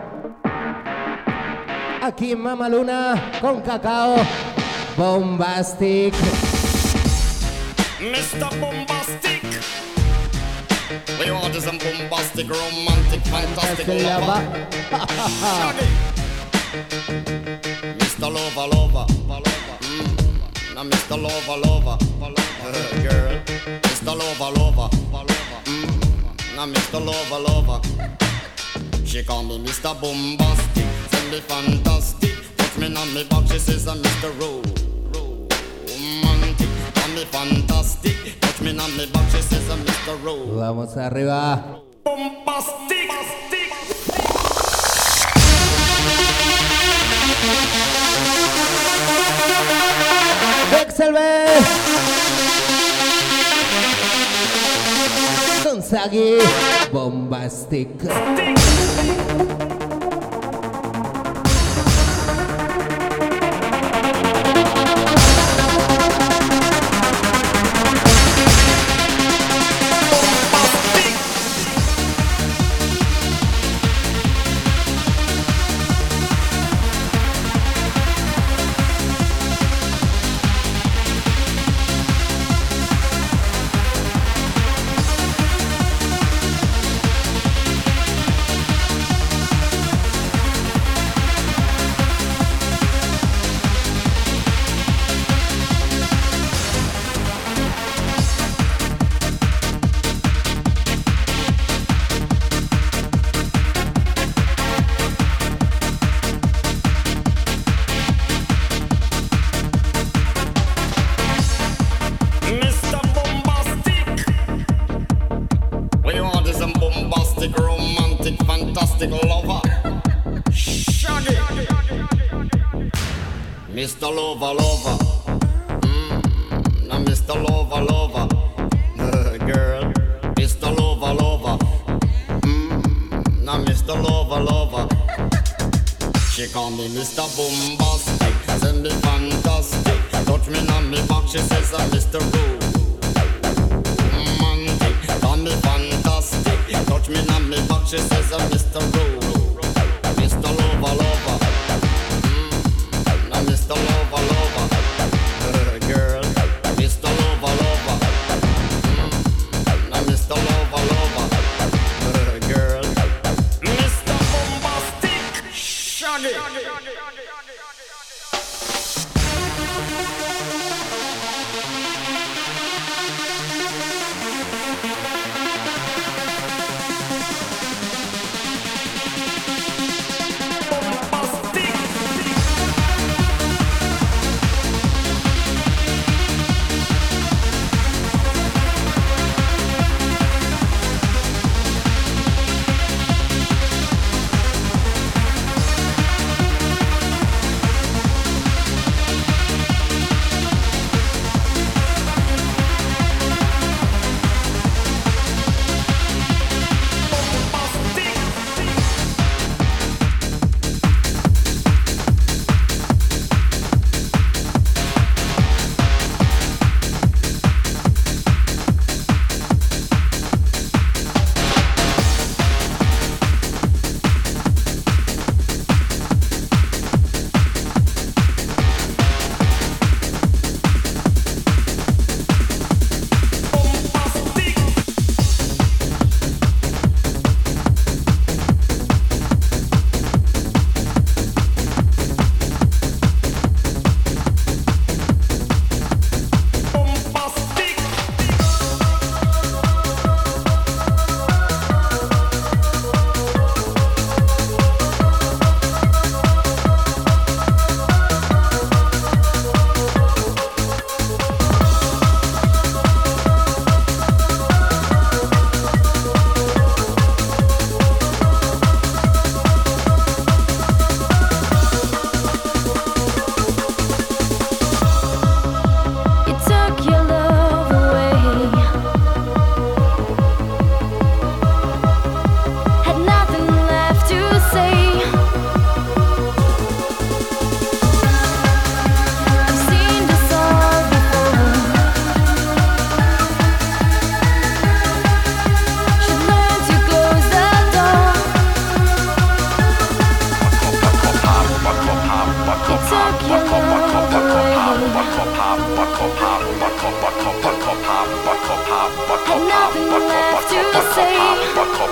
Aquí en Mama Luna con Cacao. Bombastic. mister Bombastic. We want some bombastic, romantic, fantastic lover. mister Lover, lover. Mm. Now mister Lover, lover. Uh, girl. mister Lover, lover. Mm. Now mister Lover, lover. She call me mister Bombastic. Send me fantastic. Put me on me back, she says I'm mister Ro. Romantic. Call me fantastic. Put me on me back, she says I'm mister Ro. Vamos arriba. Bombastic. Quicksilver. Con Sagi. Bombastic. mister Lover, lover. Mm, now mister Lover, lover. Uh, girl, mister Lover, lover. Mm, now mister Lover, lover. She call me mister Bombastic. Send me fantastic. Touch me on me back, she says I'm mister Romantic. Call me fantastic. Touch me on me back, she says I'm mister Ro. mister Lover, lover. mister Lover, lover. Uh, girl, mister Lover, lover. Mm. Now mister Lover, lover. Uh, girl, mister Bombastic. Shaggy.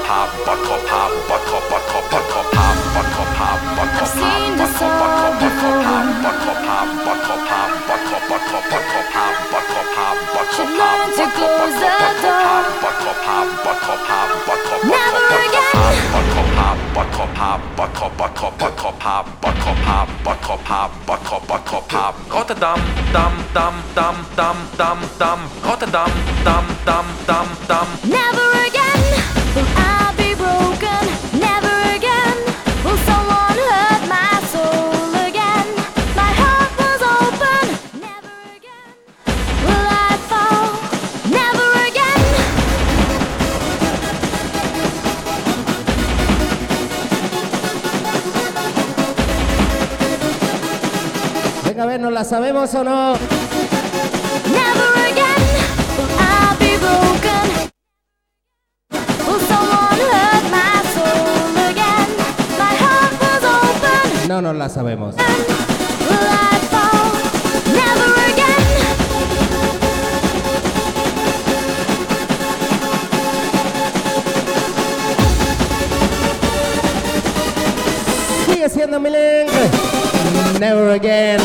seen this all before. Should learn to close the door. Never again. Got a dum dum dum dum dum dum dum. Got a dum dum dum dum dum. Never again will I be broken. Never again will someone hurt my soul again. My heart was open. Never again will I fall. Never again. Venga, a ver, ¿nos la sabemos o no? Never again will I be broken. Will someone hurt my soul again? My heart was open. No nos la sabemos. Will I fall? Never again. Sigue siendo mi link. Never again.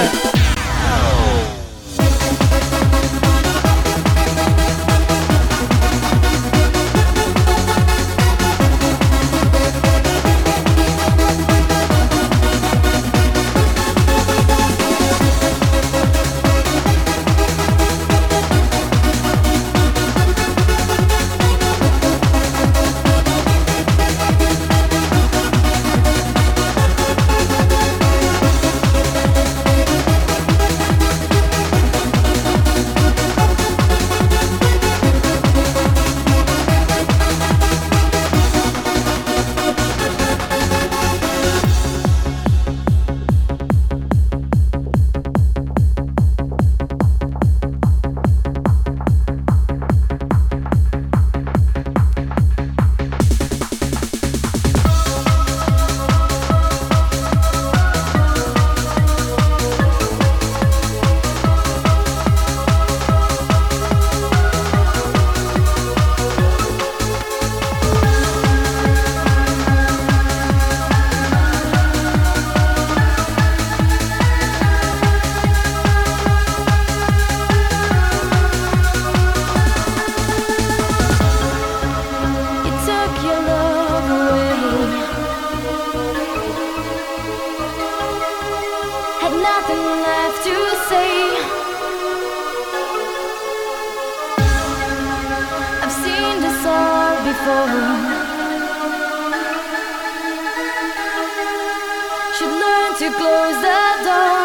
Should learn to close the door.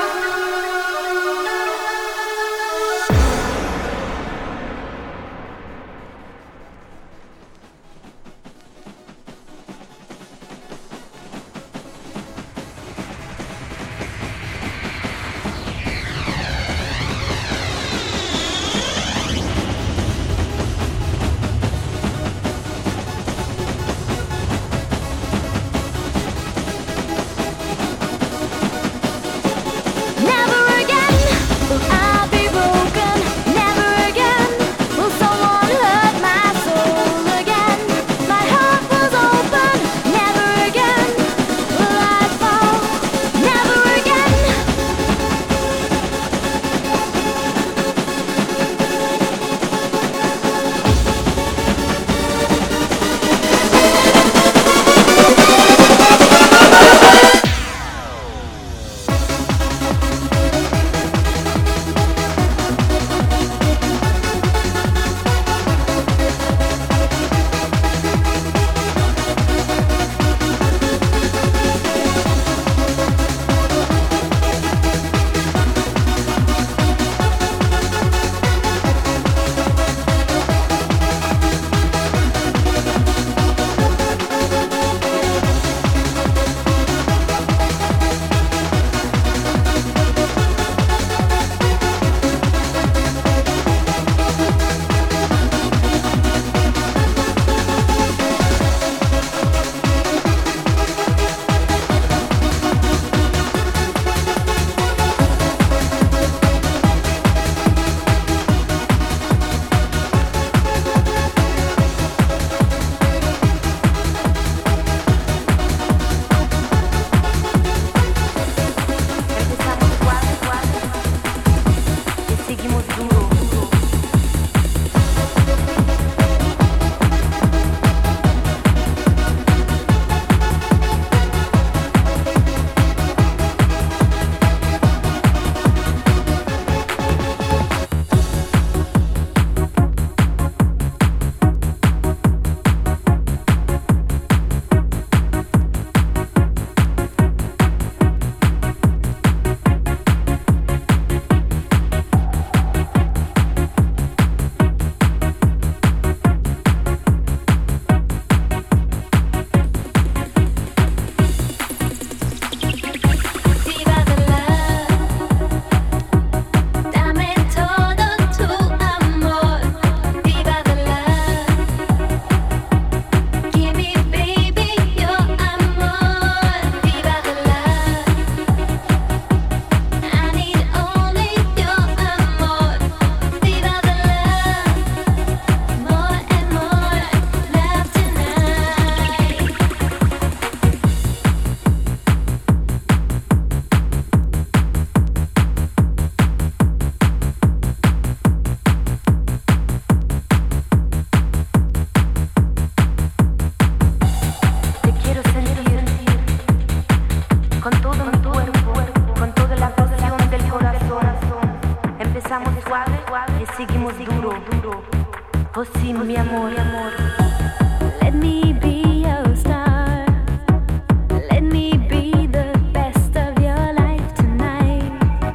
Oh sí, mi amor, mi amor. Let me be your star. Let me be the best of your life tonight.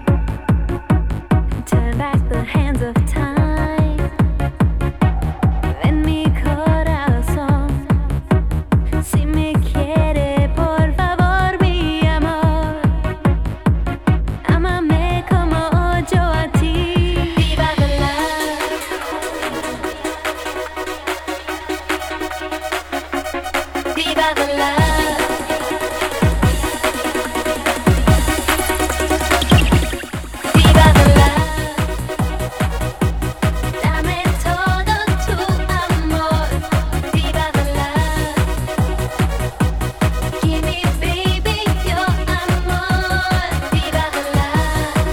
Turn back the hands of time. Ven mi corazón. Si me quiere, por favor, mi amor. Ámame como yo a ti. Viva the love. Viva the love. Viva the love. Dame todo tu amor. Viva the love. Give me, baby, your amor. Viva the love.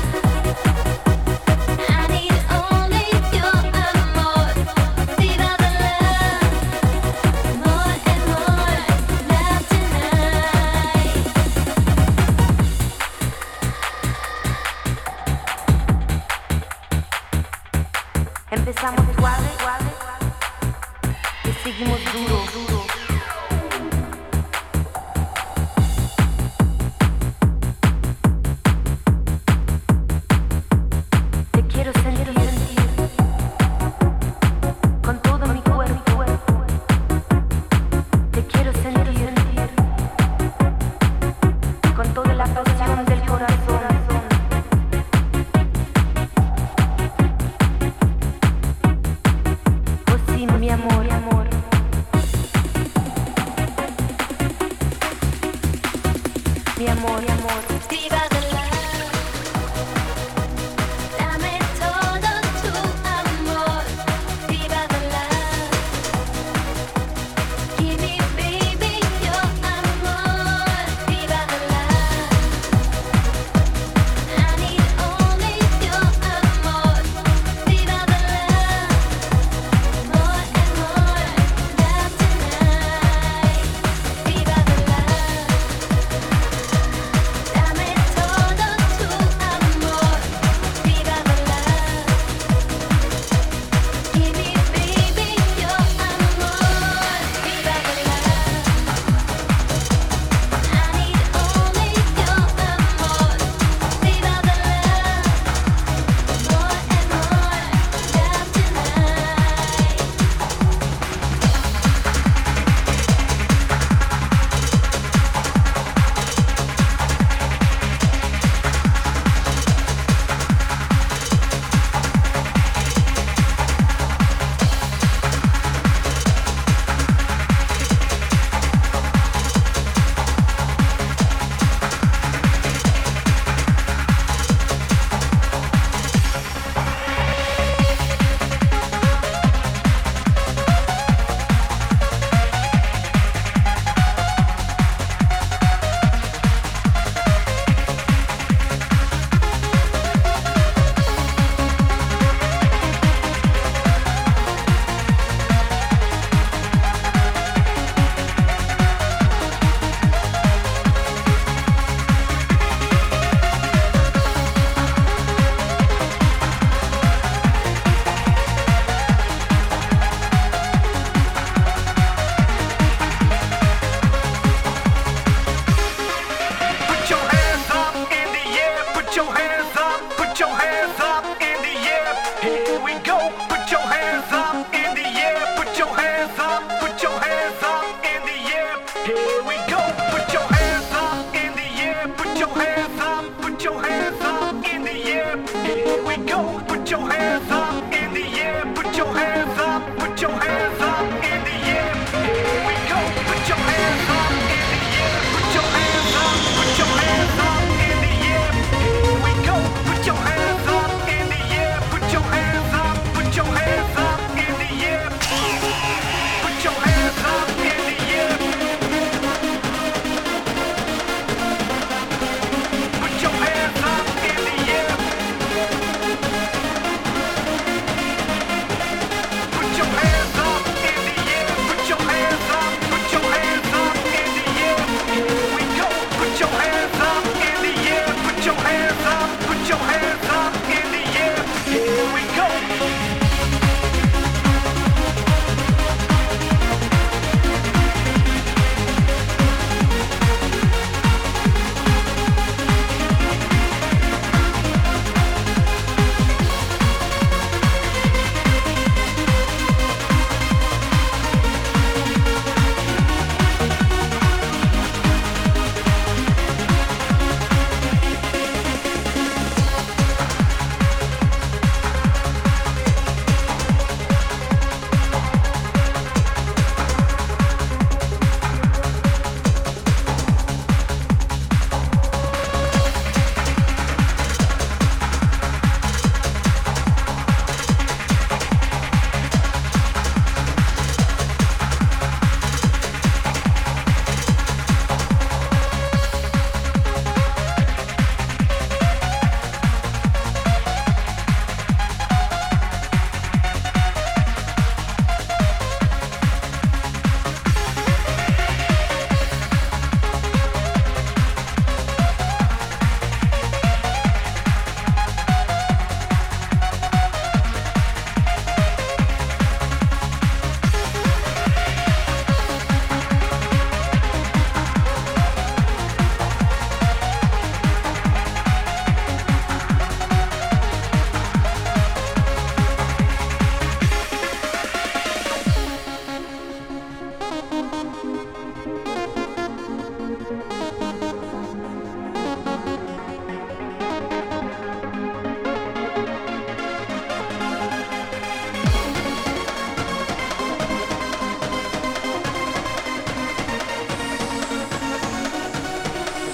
I need only your amor. Viva the love. More and more love tonight. Empezamos suave, suave, y seguimos duro, duro. Te quiero sentir, sentir, con todo mi cuerpo. Te quiero sentir, sentir, con toda la pasión del corazón. Oh sí, mi amor, mi amor. Mi amor, mi amor. Viva the love. Dame todo tu amor. Viva the love. Give me, baby, your amor. Viva the love. I need only your amor. Viva the love. More and more love tonight. Viva the love. Dame todo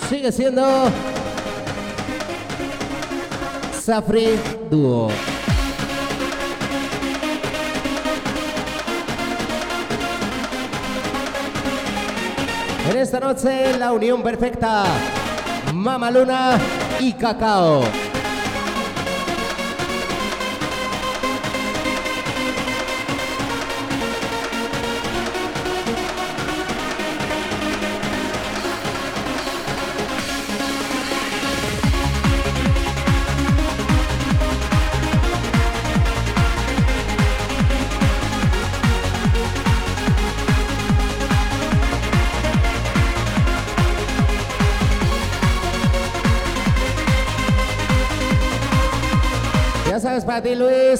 sigue siendo Safri Duo. En esta noche, la unión perfecta, Mama Luna y Cacao. Ya sabes, para ti, Luis.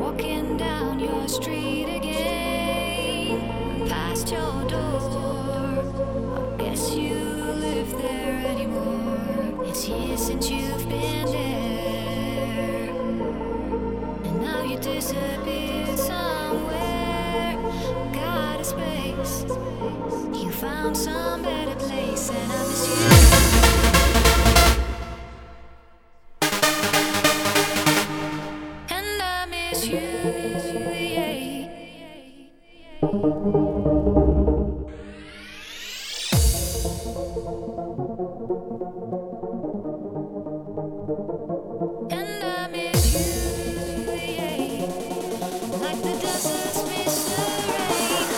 walking down your street again, past your door. I guess you live there anymore. It's years since you've been there, and now you disappeared somewhere. Got a space, you found some better place, and I miss you. And I miss you, yeah. And I miss you, yeah. Like the deserts miss the rain.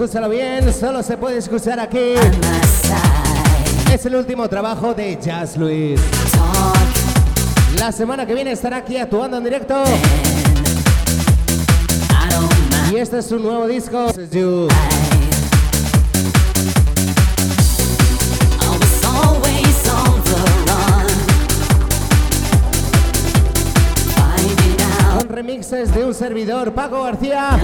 escúchalo bien, solo se puede escuchar aquí. Es el último trabajo de Jazz Luis. La semana que viene estará aquí actuando en directo. Y este es su nuevo disco. This is you. Con remixes de un servidor, Paco García.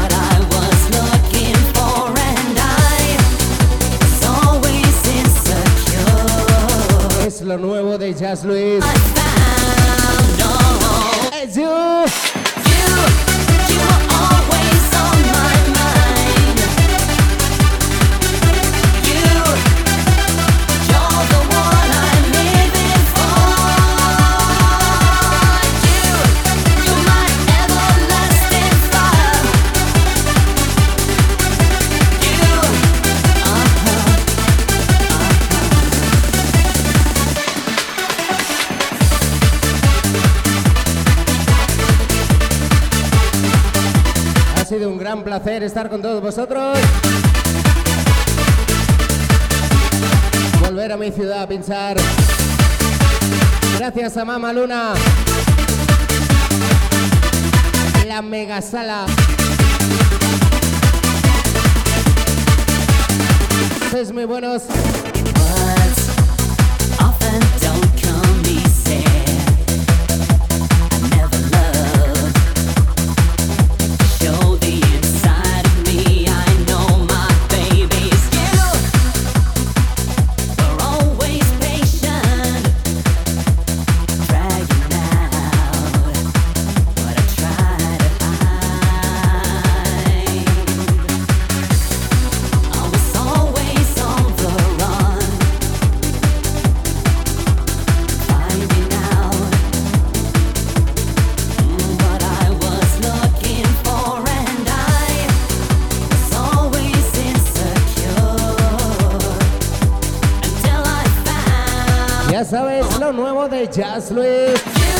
Es lo nuevo de Jazz Luis. It's you. Ha sido un gran placer estar con todos vosotros. Volver a mi ciudad a pinchar. Gracias a Mama Luna. La mega sala. Sois muy buenos. Ya sabes, lo nuevo de Jazz Luis.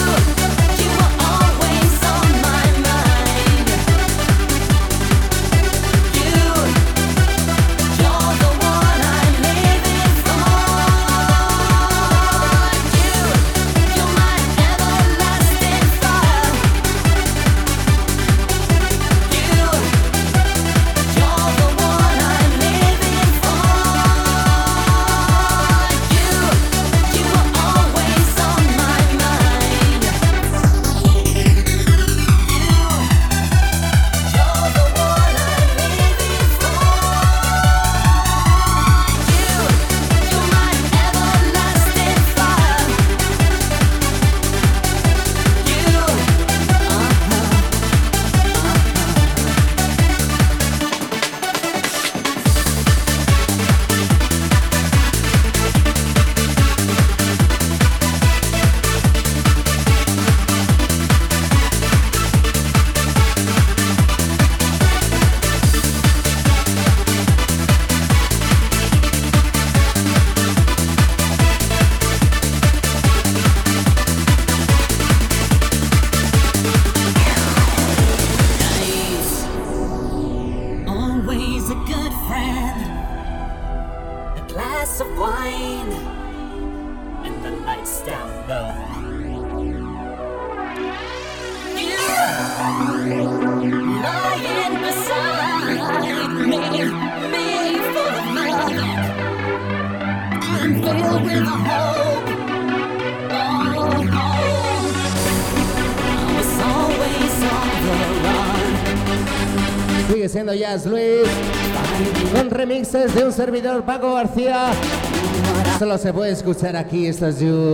Sigue siendo Jazz Luis con remixes de un servidor, Paco García. Solo se puede escuchar aquí. Esto es You.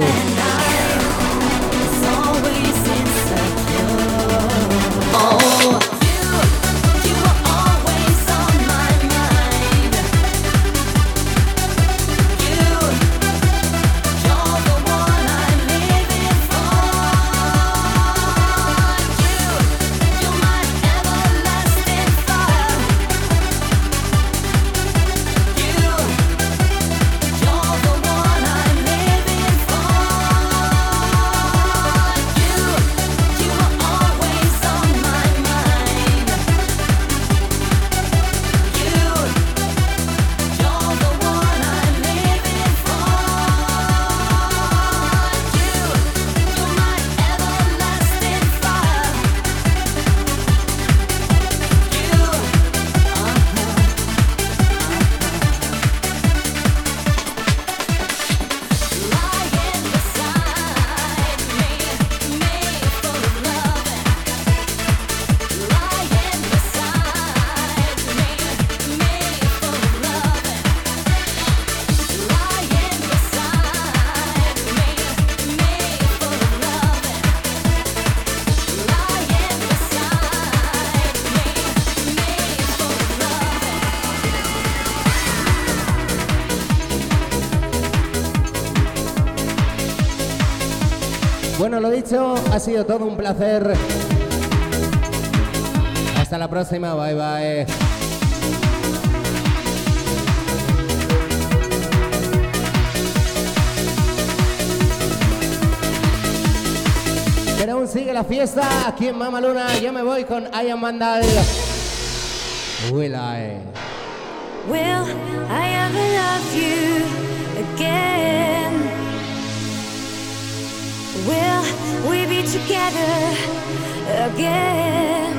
Bueno, lo dicho, ha sido todo un placer. Hasta la próxima, bye bye. Pero aún sigue la fiesta aquí en Mamaluna. Yo me voy con I Am Vandal. Will I? Will I ever love you again? Will we be together again?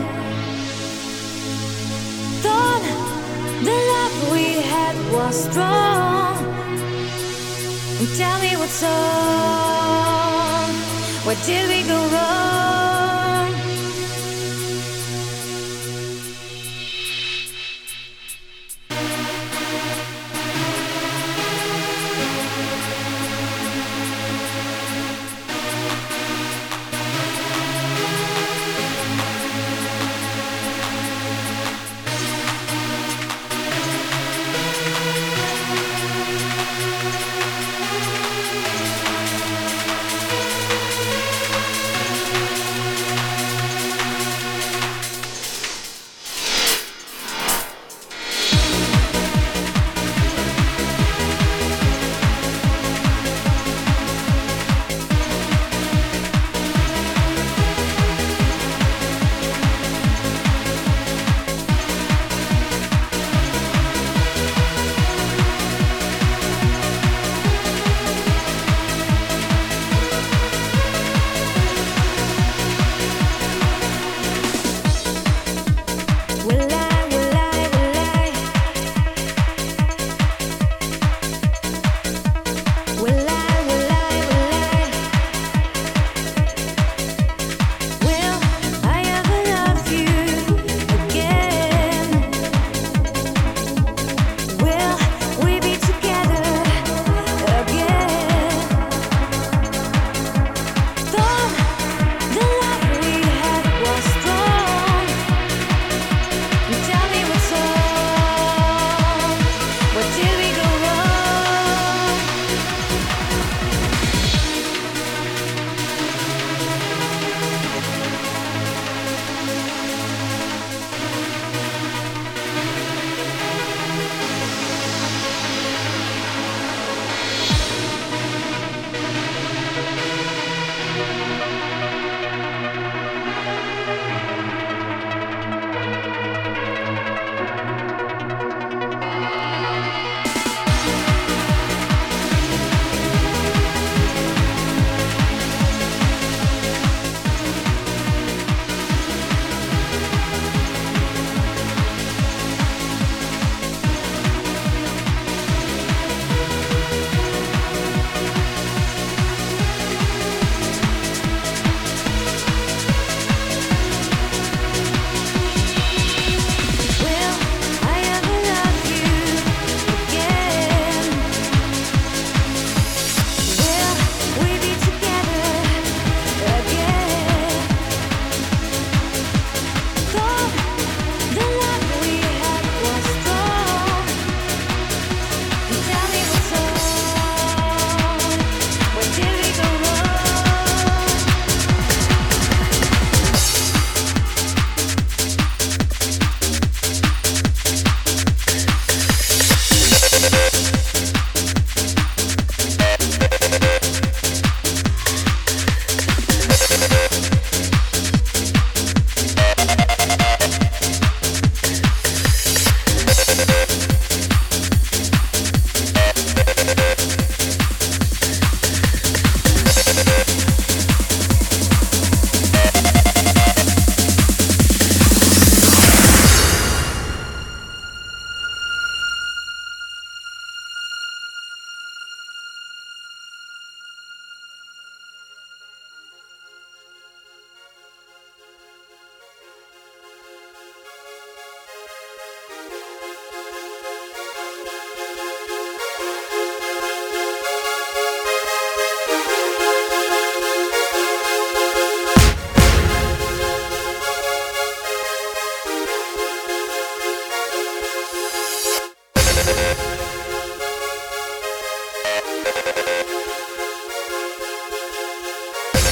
Thought the love we had was strong. Tell me what's wrong. Where did we go wrong?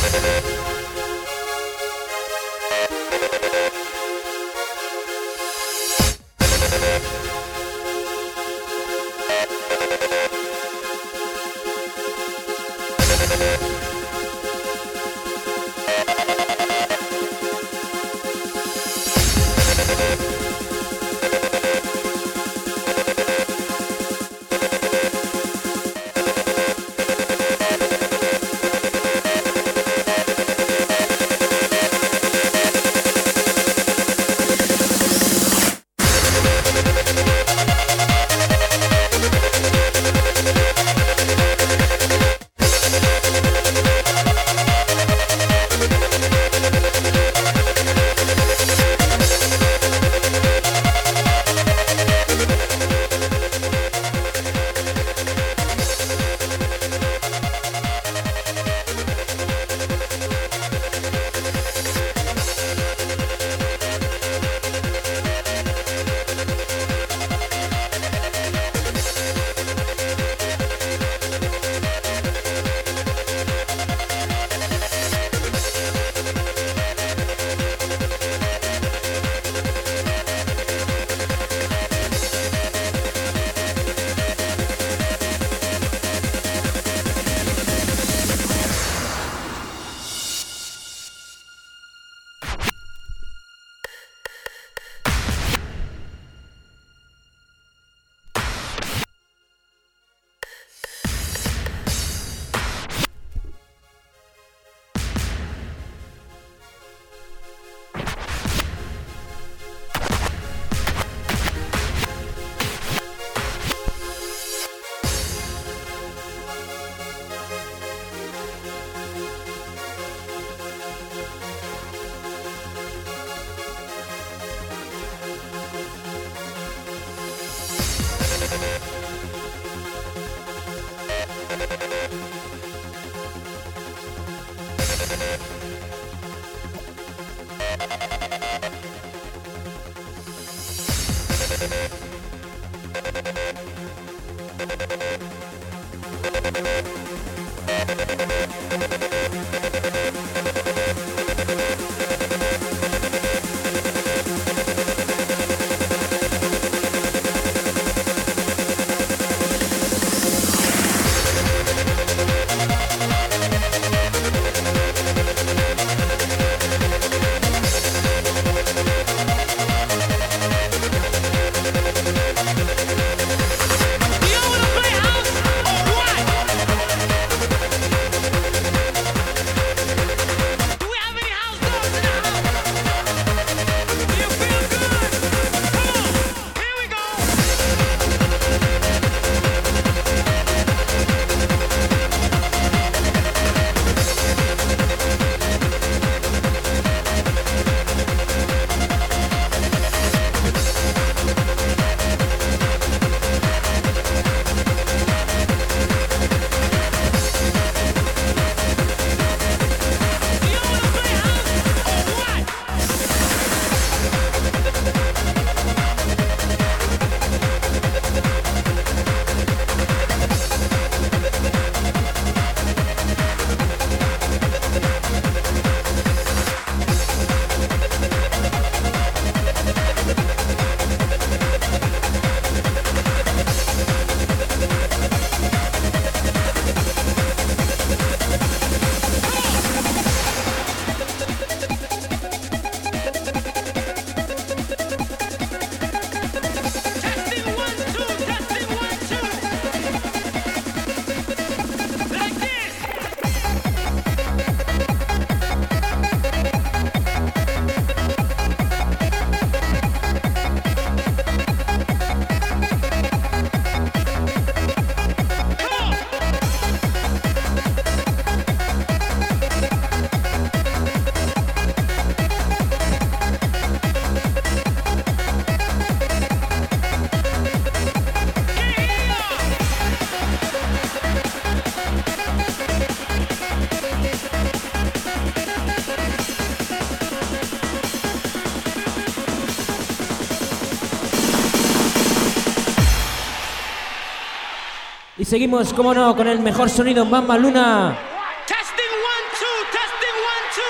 Y seguimos, como no, con el mejor sonido, Mamma Luna. Testing one, two, testing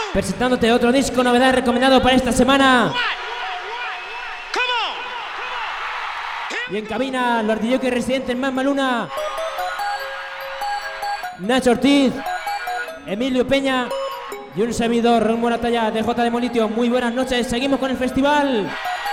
presentándote otro disco novedad recomendado para esta semana. Y en cabina, los D J residentes Mamma Luna, Nacho Ortiz, Emilio Peña y un servidor, Raúl Moratalla de J de Molitio. Muy buenas noches, seguimos con el festival.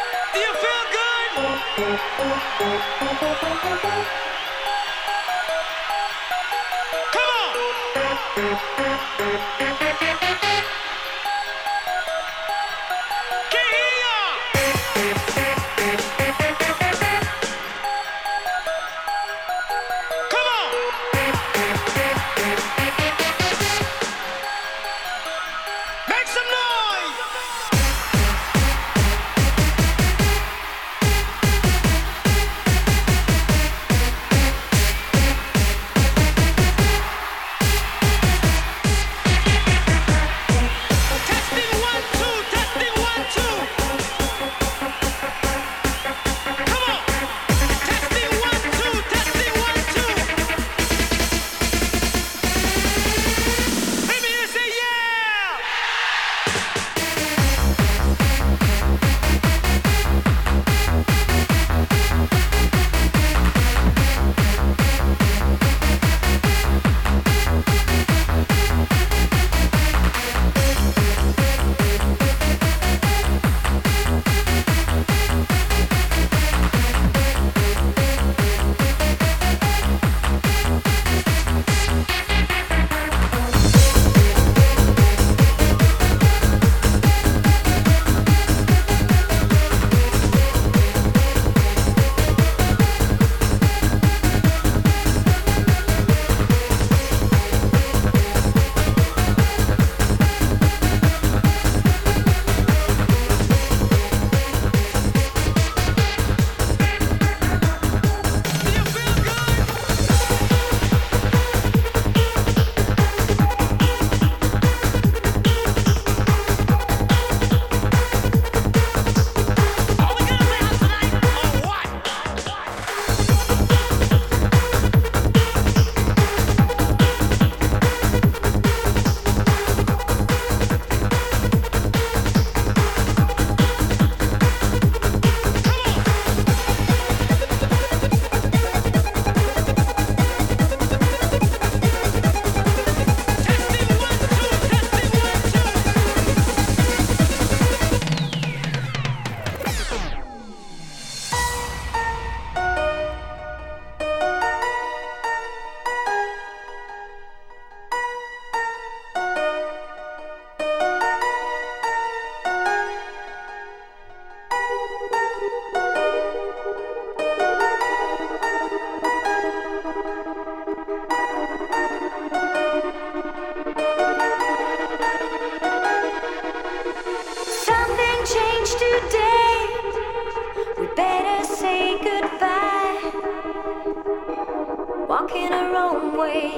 Walking a wrong way.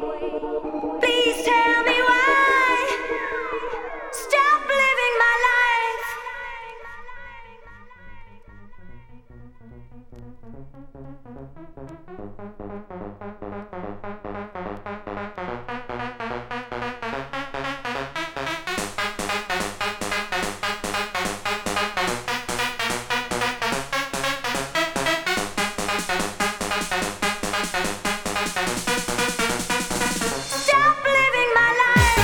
Please tell me why. Stop living my life. Stop living my life.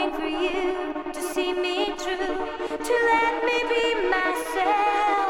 waiting for you to see me through, to let me be myself.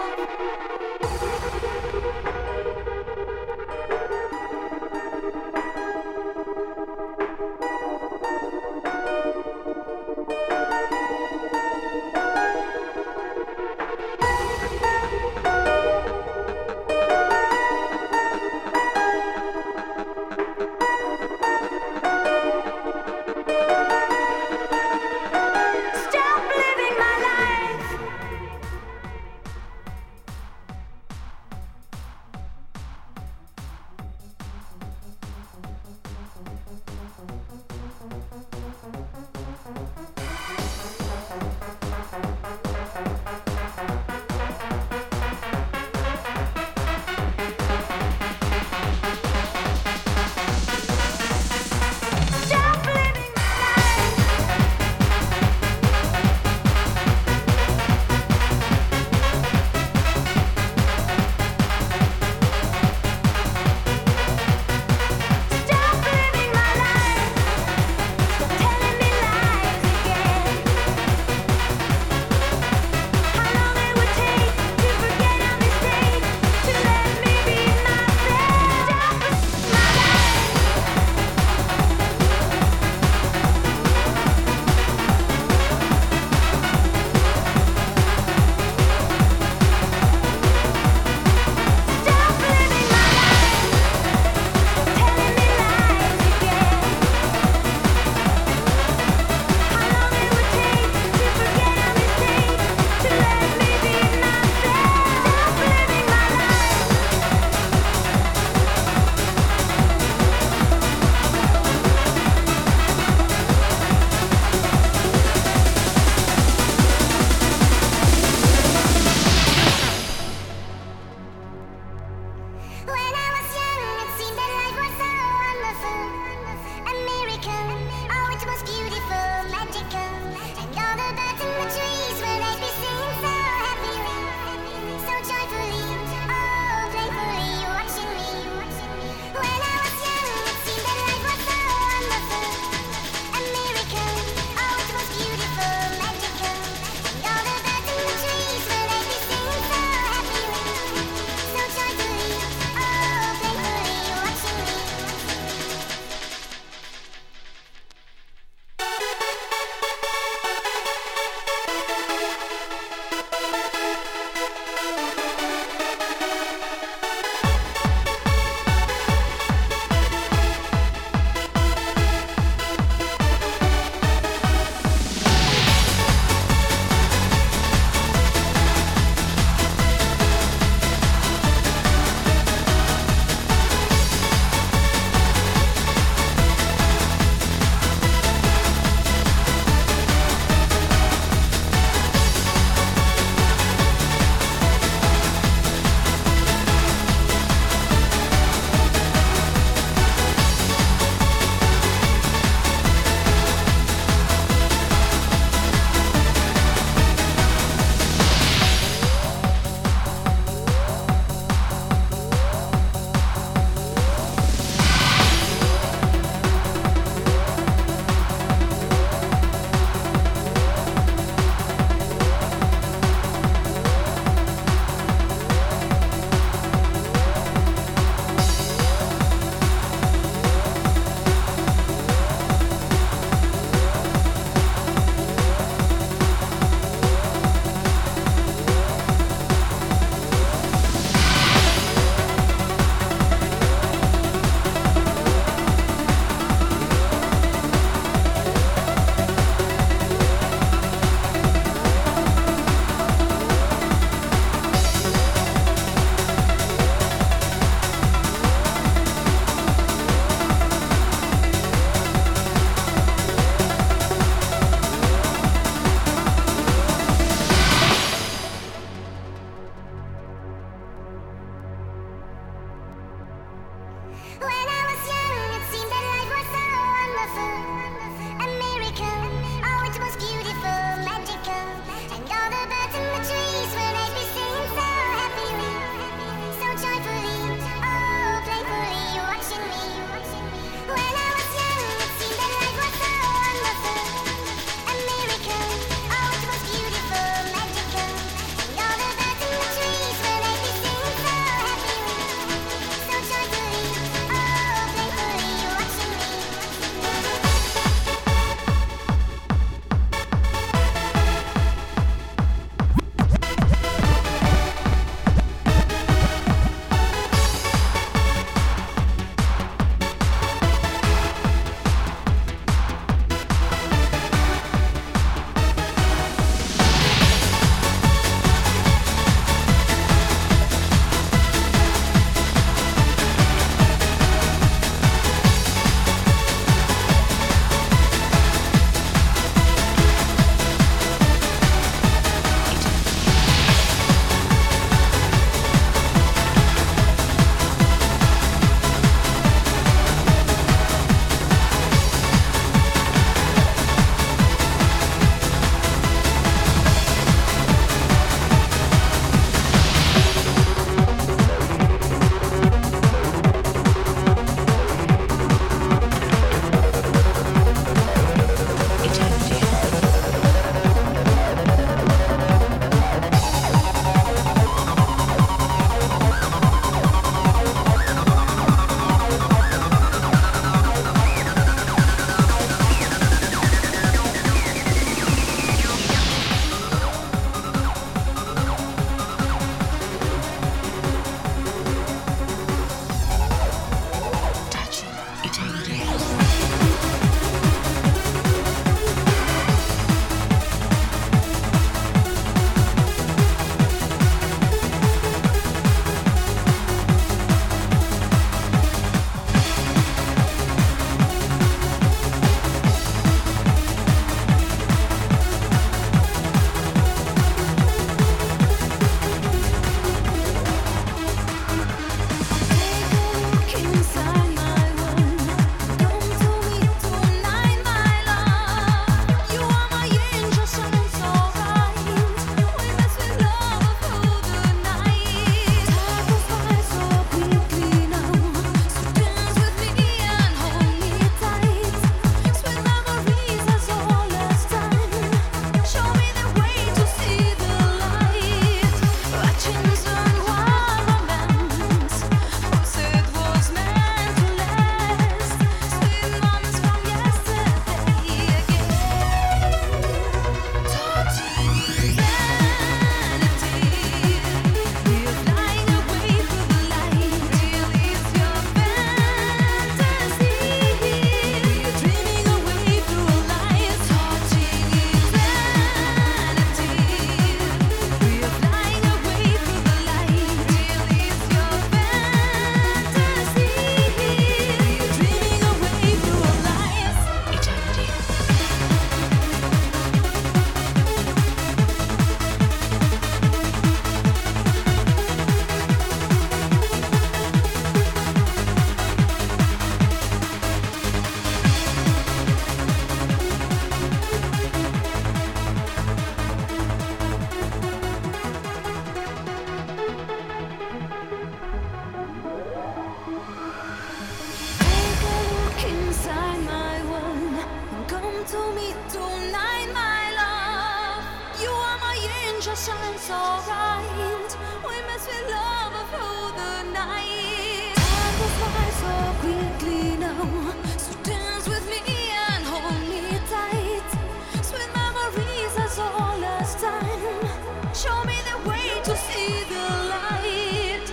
shine so bright. We mess with love through the night. Time goes by so quickly now. So dance with me and hold me tight. Sweet memories as all last time. Show me the way to see the light.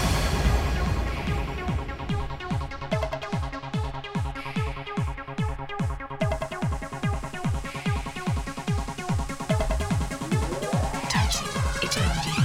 Touching eternity.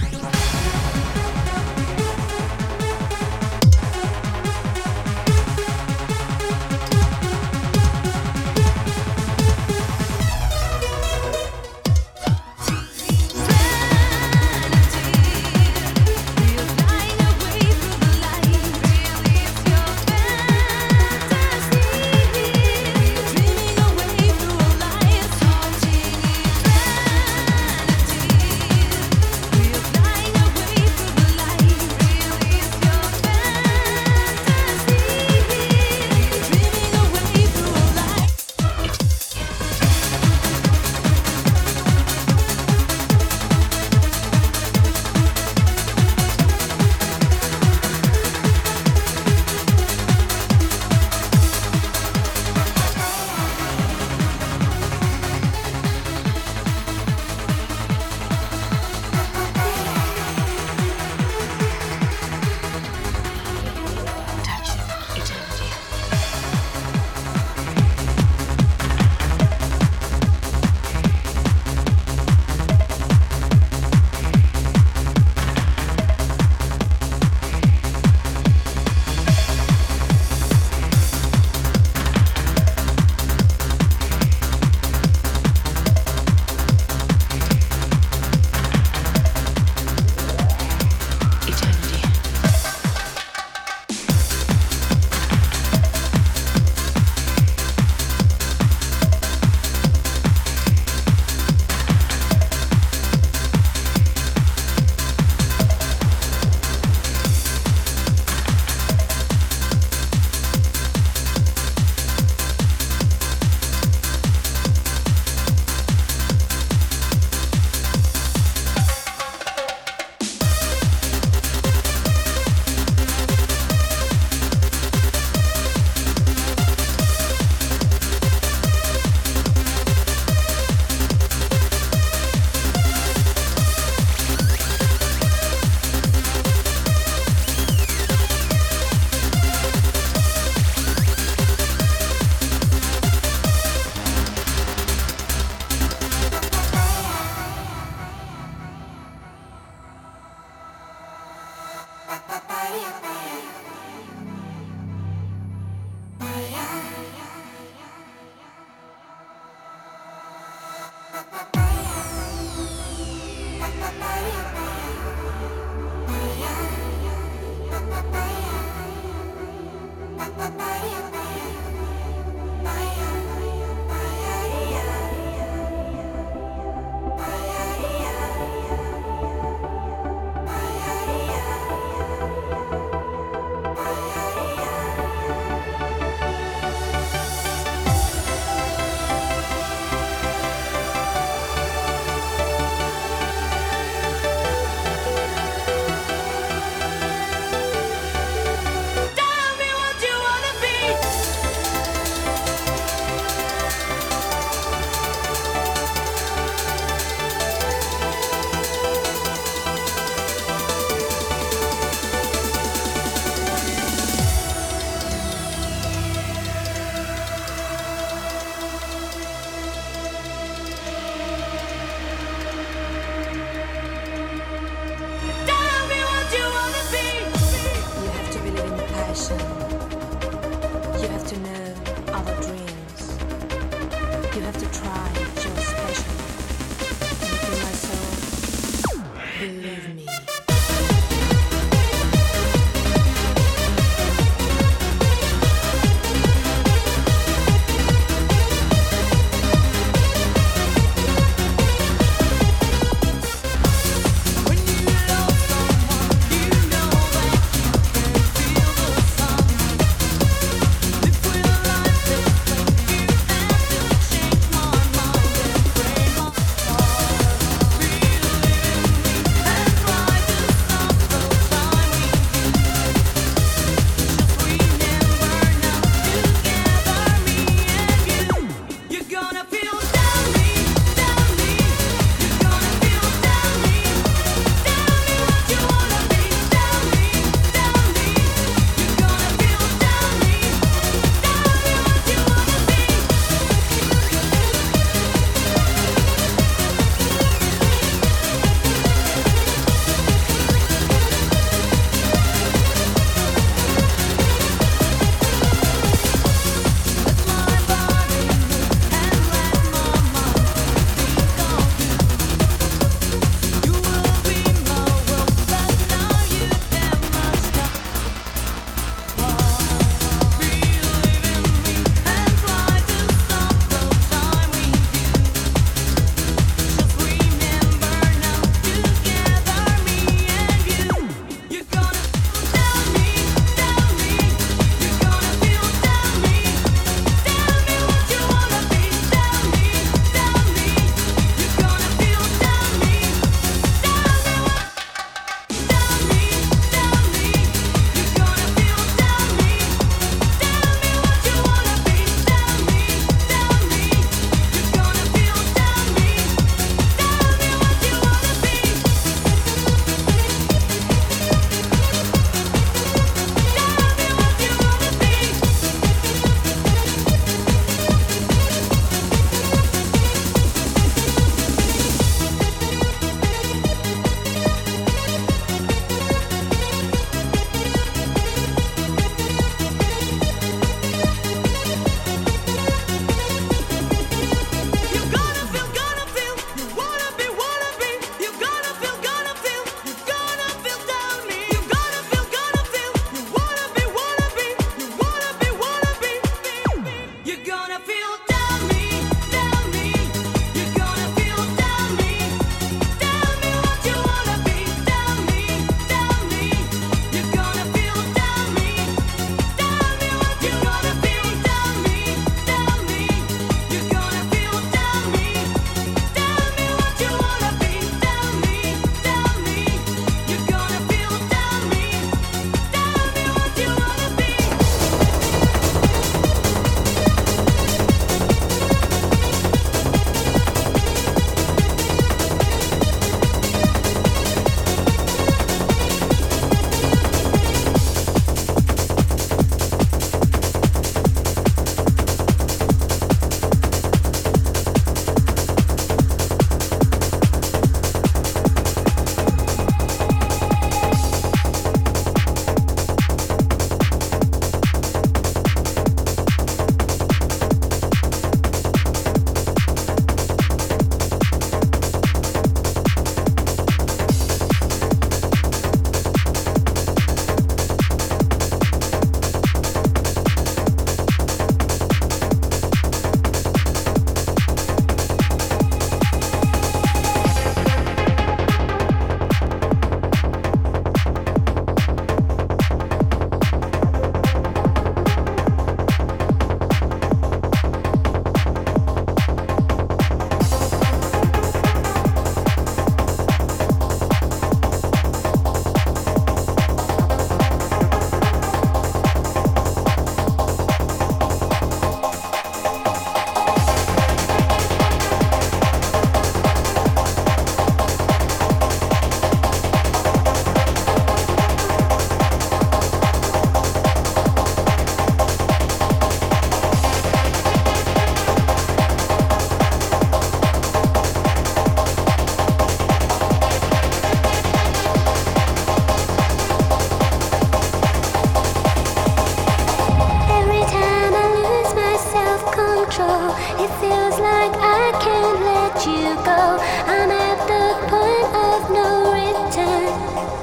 feels like I can't let you go. I'm at the point of no return.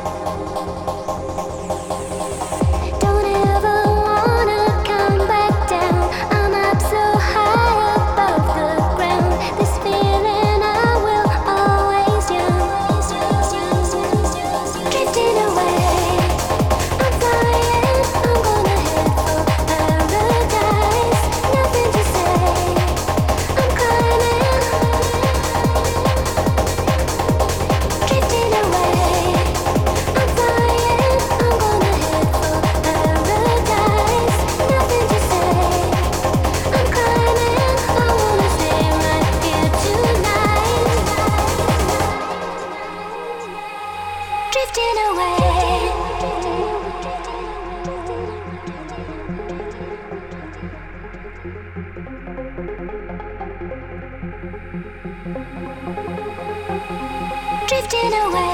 Don't ever wanna come back down. I'm up so high above the ground. This feeling I will always yearn. Drifting away, I'm flying. I'm gonna head for paradise. Nothing to say. I'm climbing. Drifting away, I'm flying. I'm gonna head for paradise. Nothing to say. I'm climbing. I wanna stay right here tonight. Drifting away. Drifting away.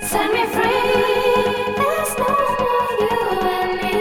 Set me free. There's no more you and me.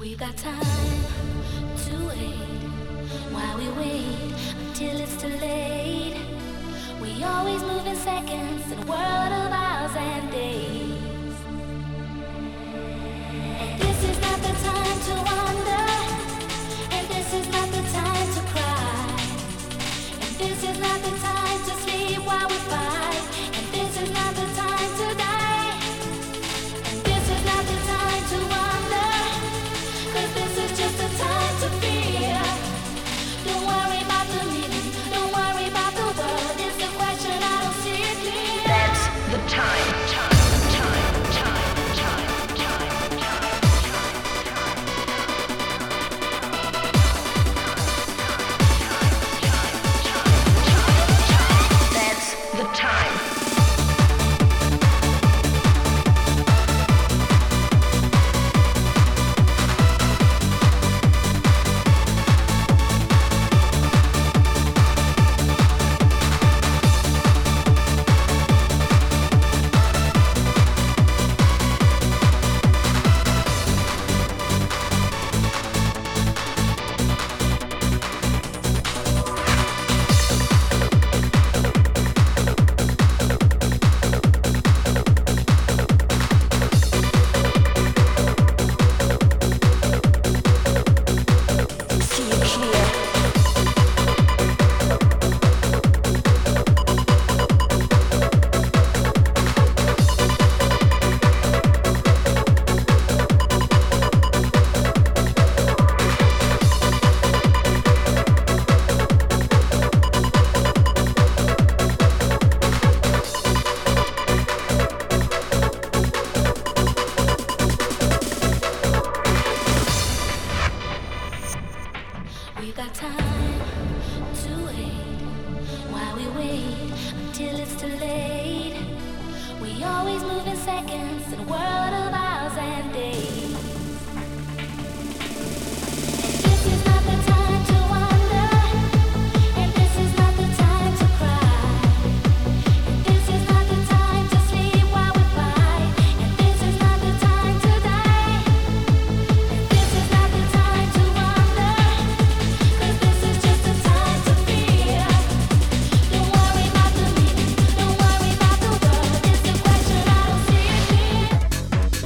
We've got time to wait while we wait until it's too late. We always move in seconds in a world of hours and days. And this is not the time to wonder, and this is not the time to cry, and this is not the time to sleep while we fight, and this is not the time to die, and this is not the time to wonder, 'cause this is just the time to feel. Don't worry about the meaning, don't worry about the world, it's a question I don't see it clear. That's the time, time, time, time, time, time, time, That's the time. We've got time to wait while we wait until it's too late. We always move in seconds in a world of hours and days. And this is not the time to wonder, and this is not the time to cry, and this is not the time to sleep while we fight, and this is not the time to die, and this is not the time to wonder, 'cause this is just the time to feel. Don't worry about the meaning, don't worry about the world, it's a question I don't see it clear.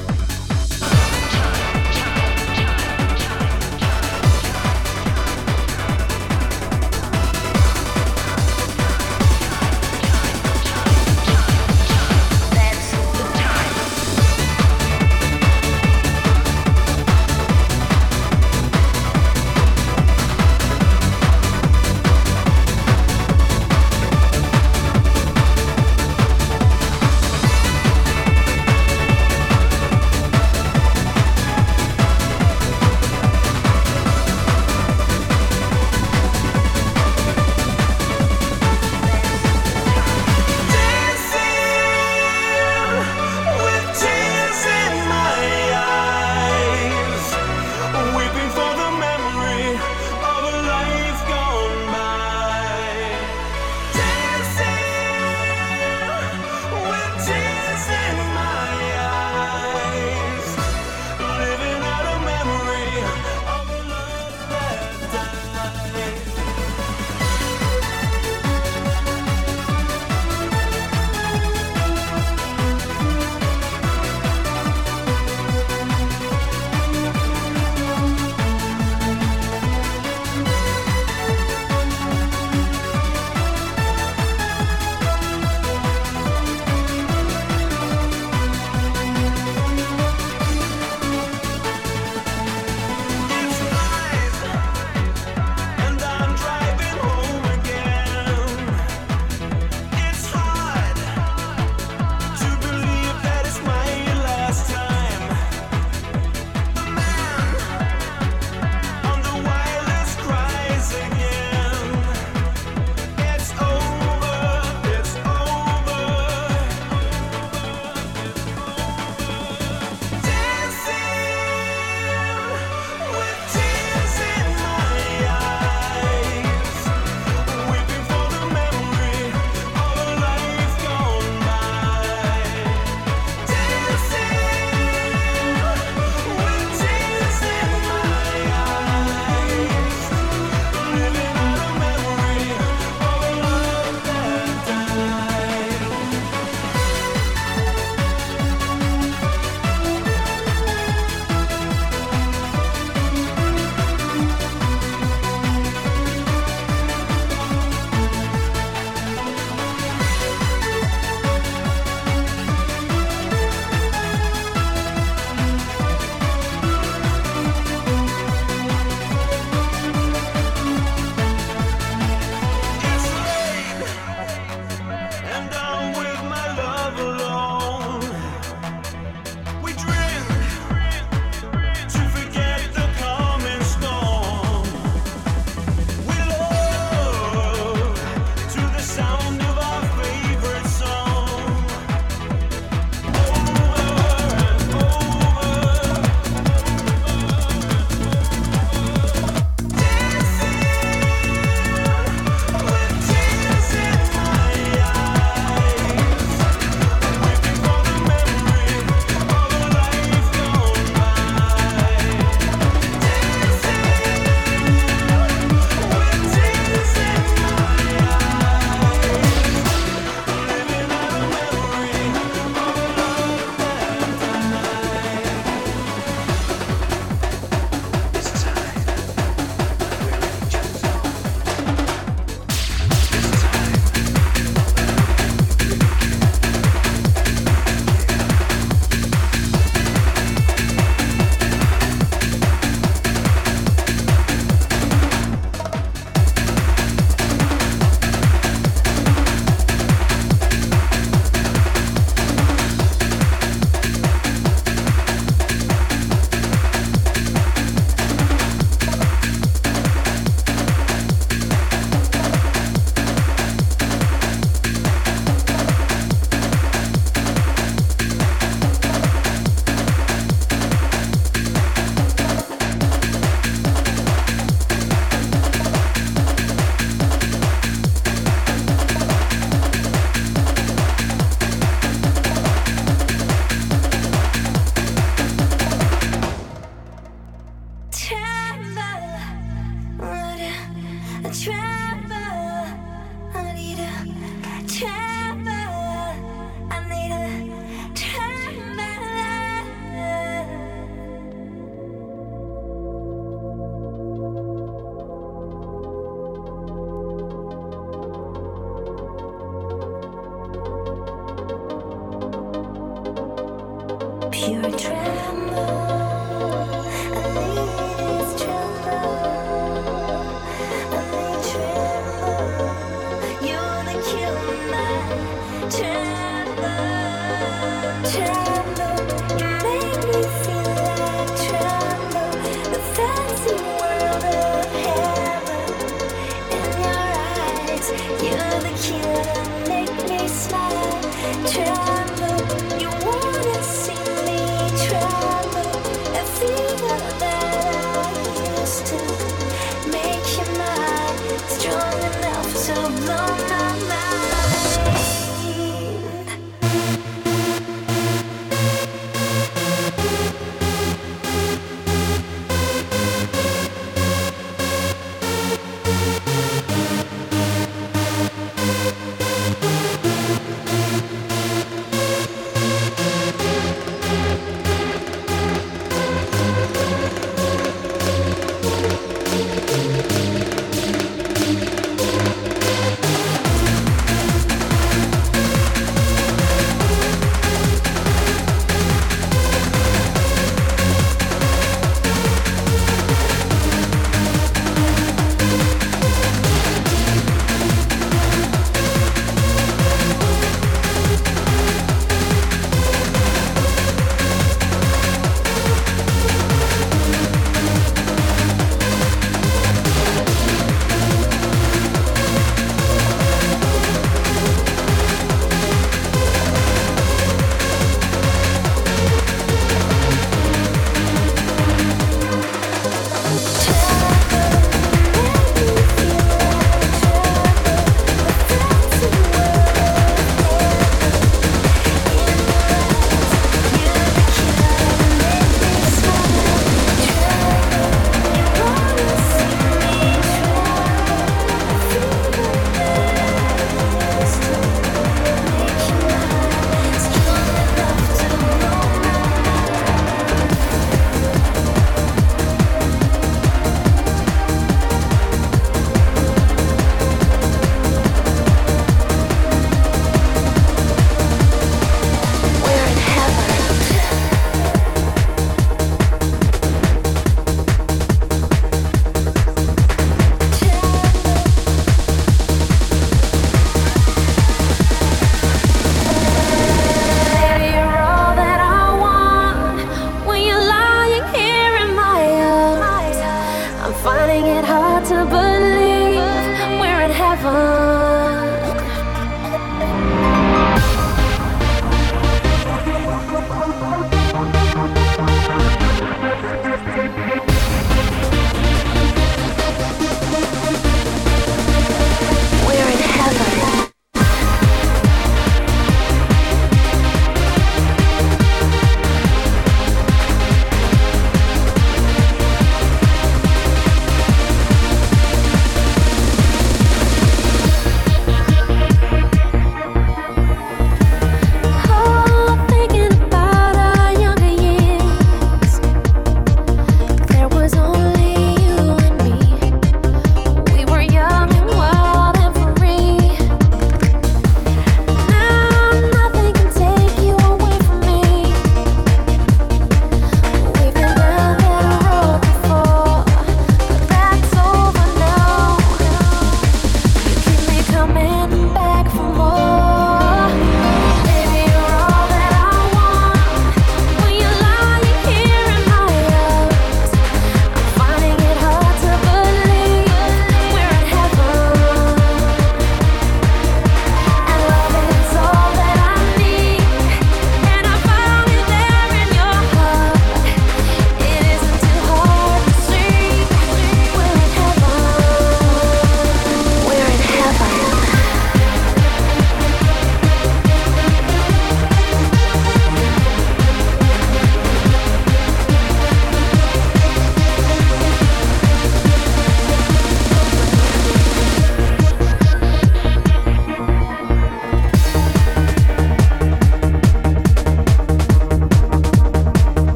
Strong enough to blow my mind.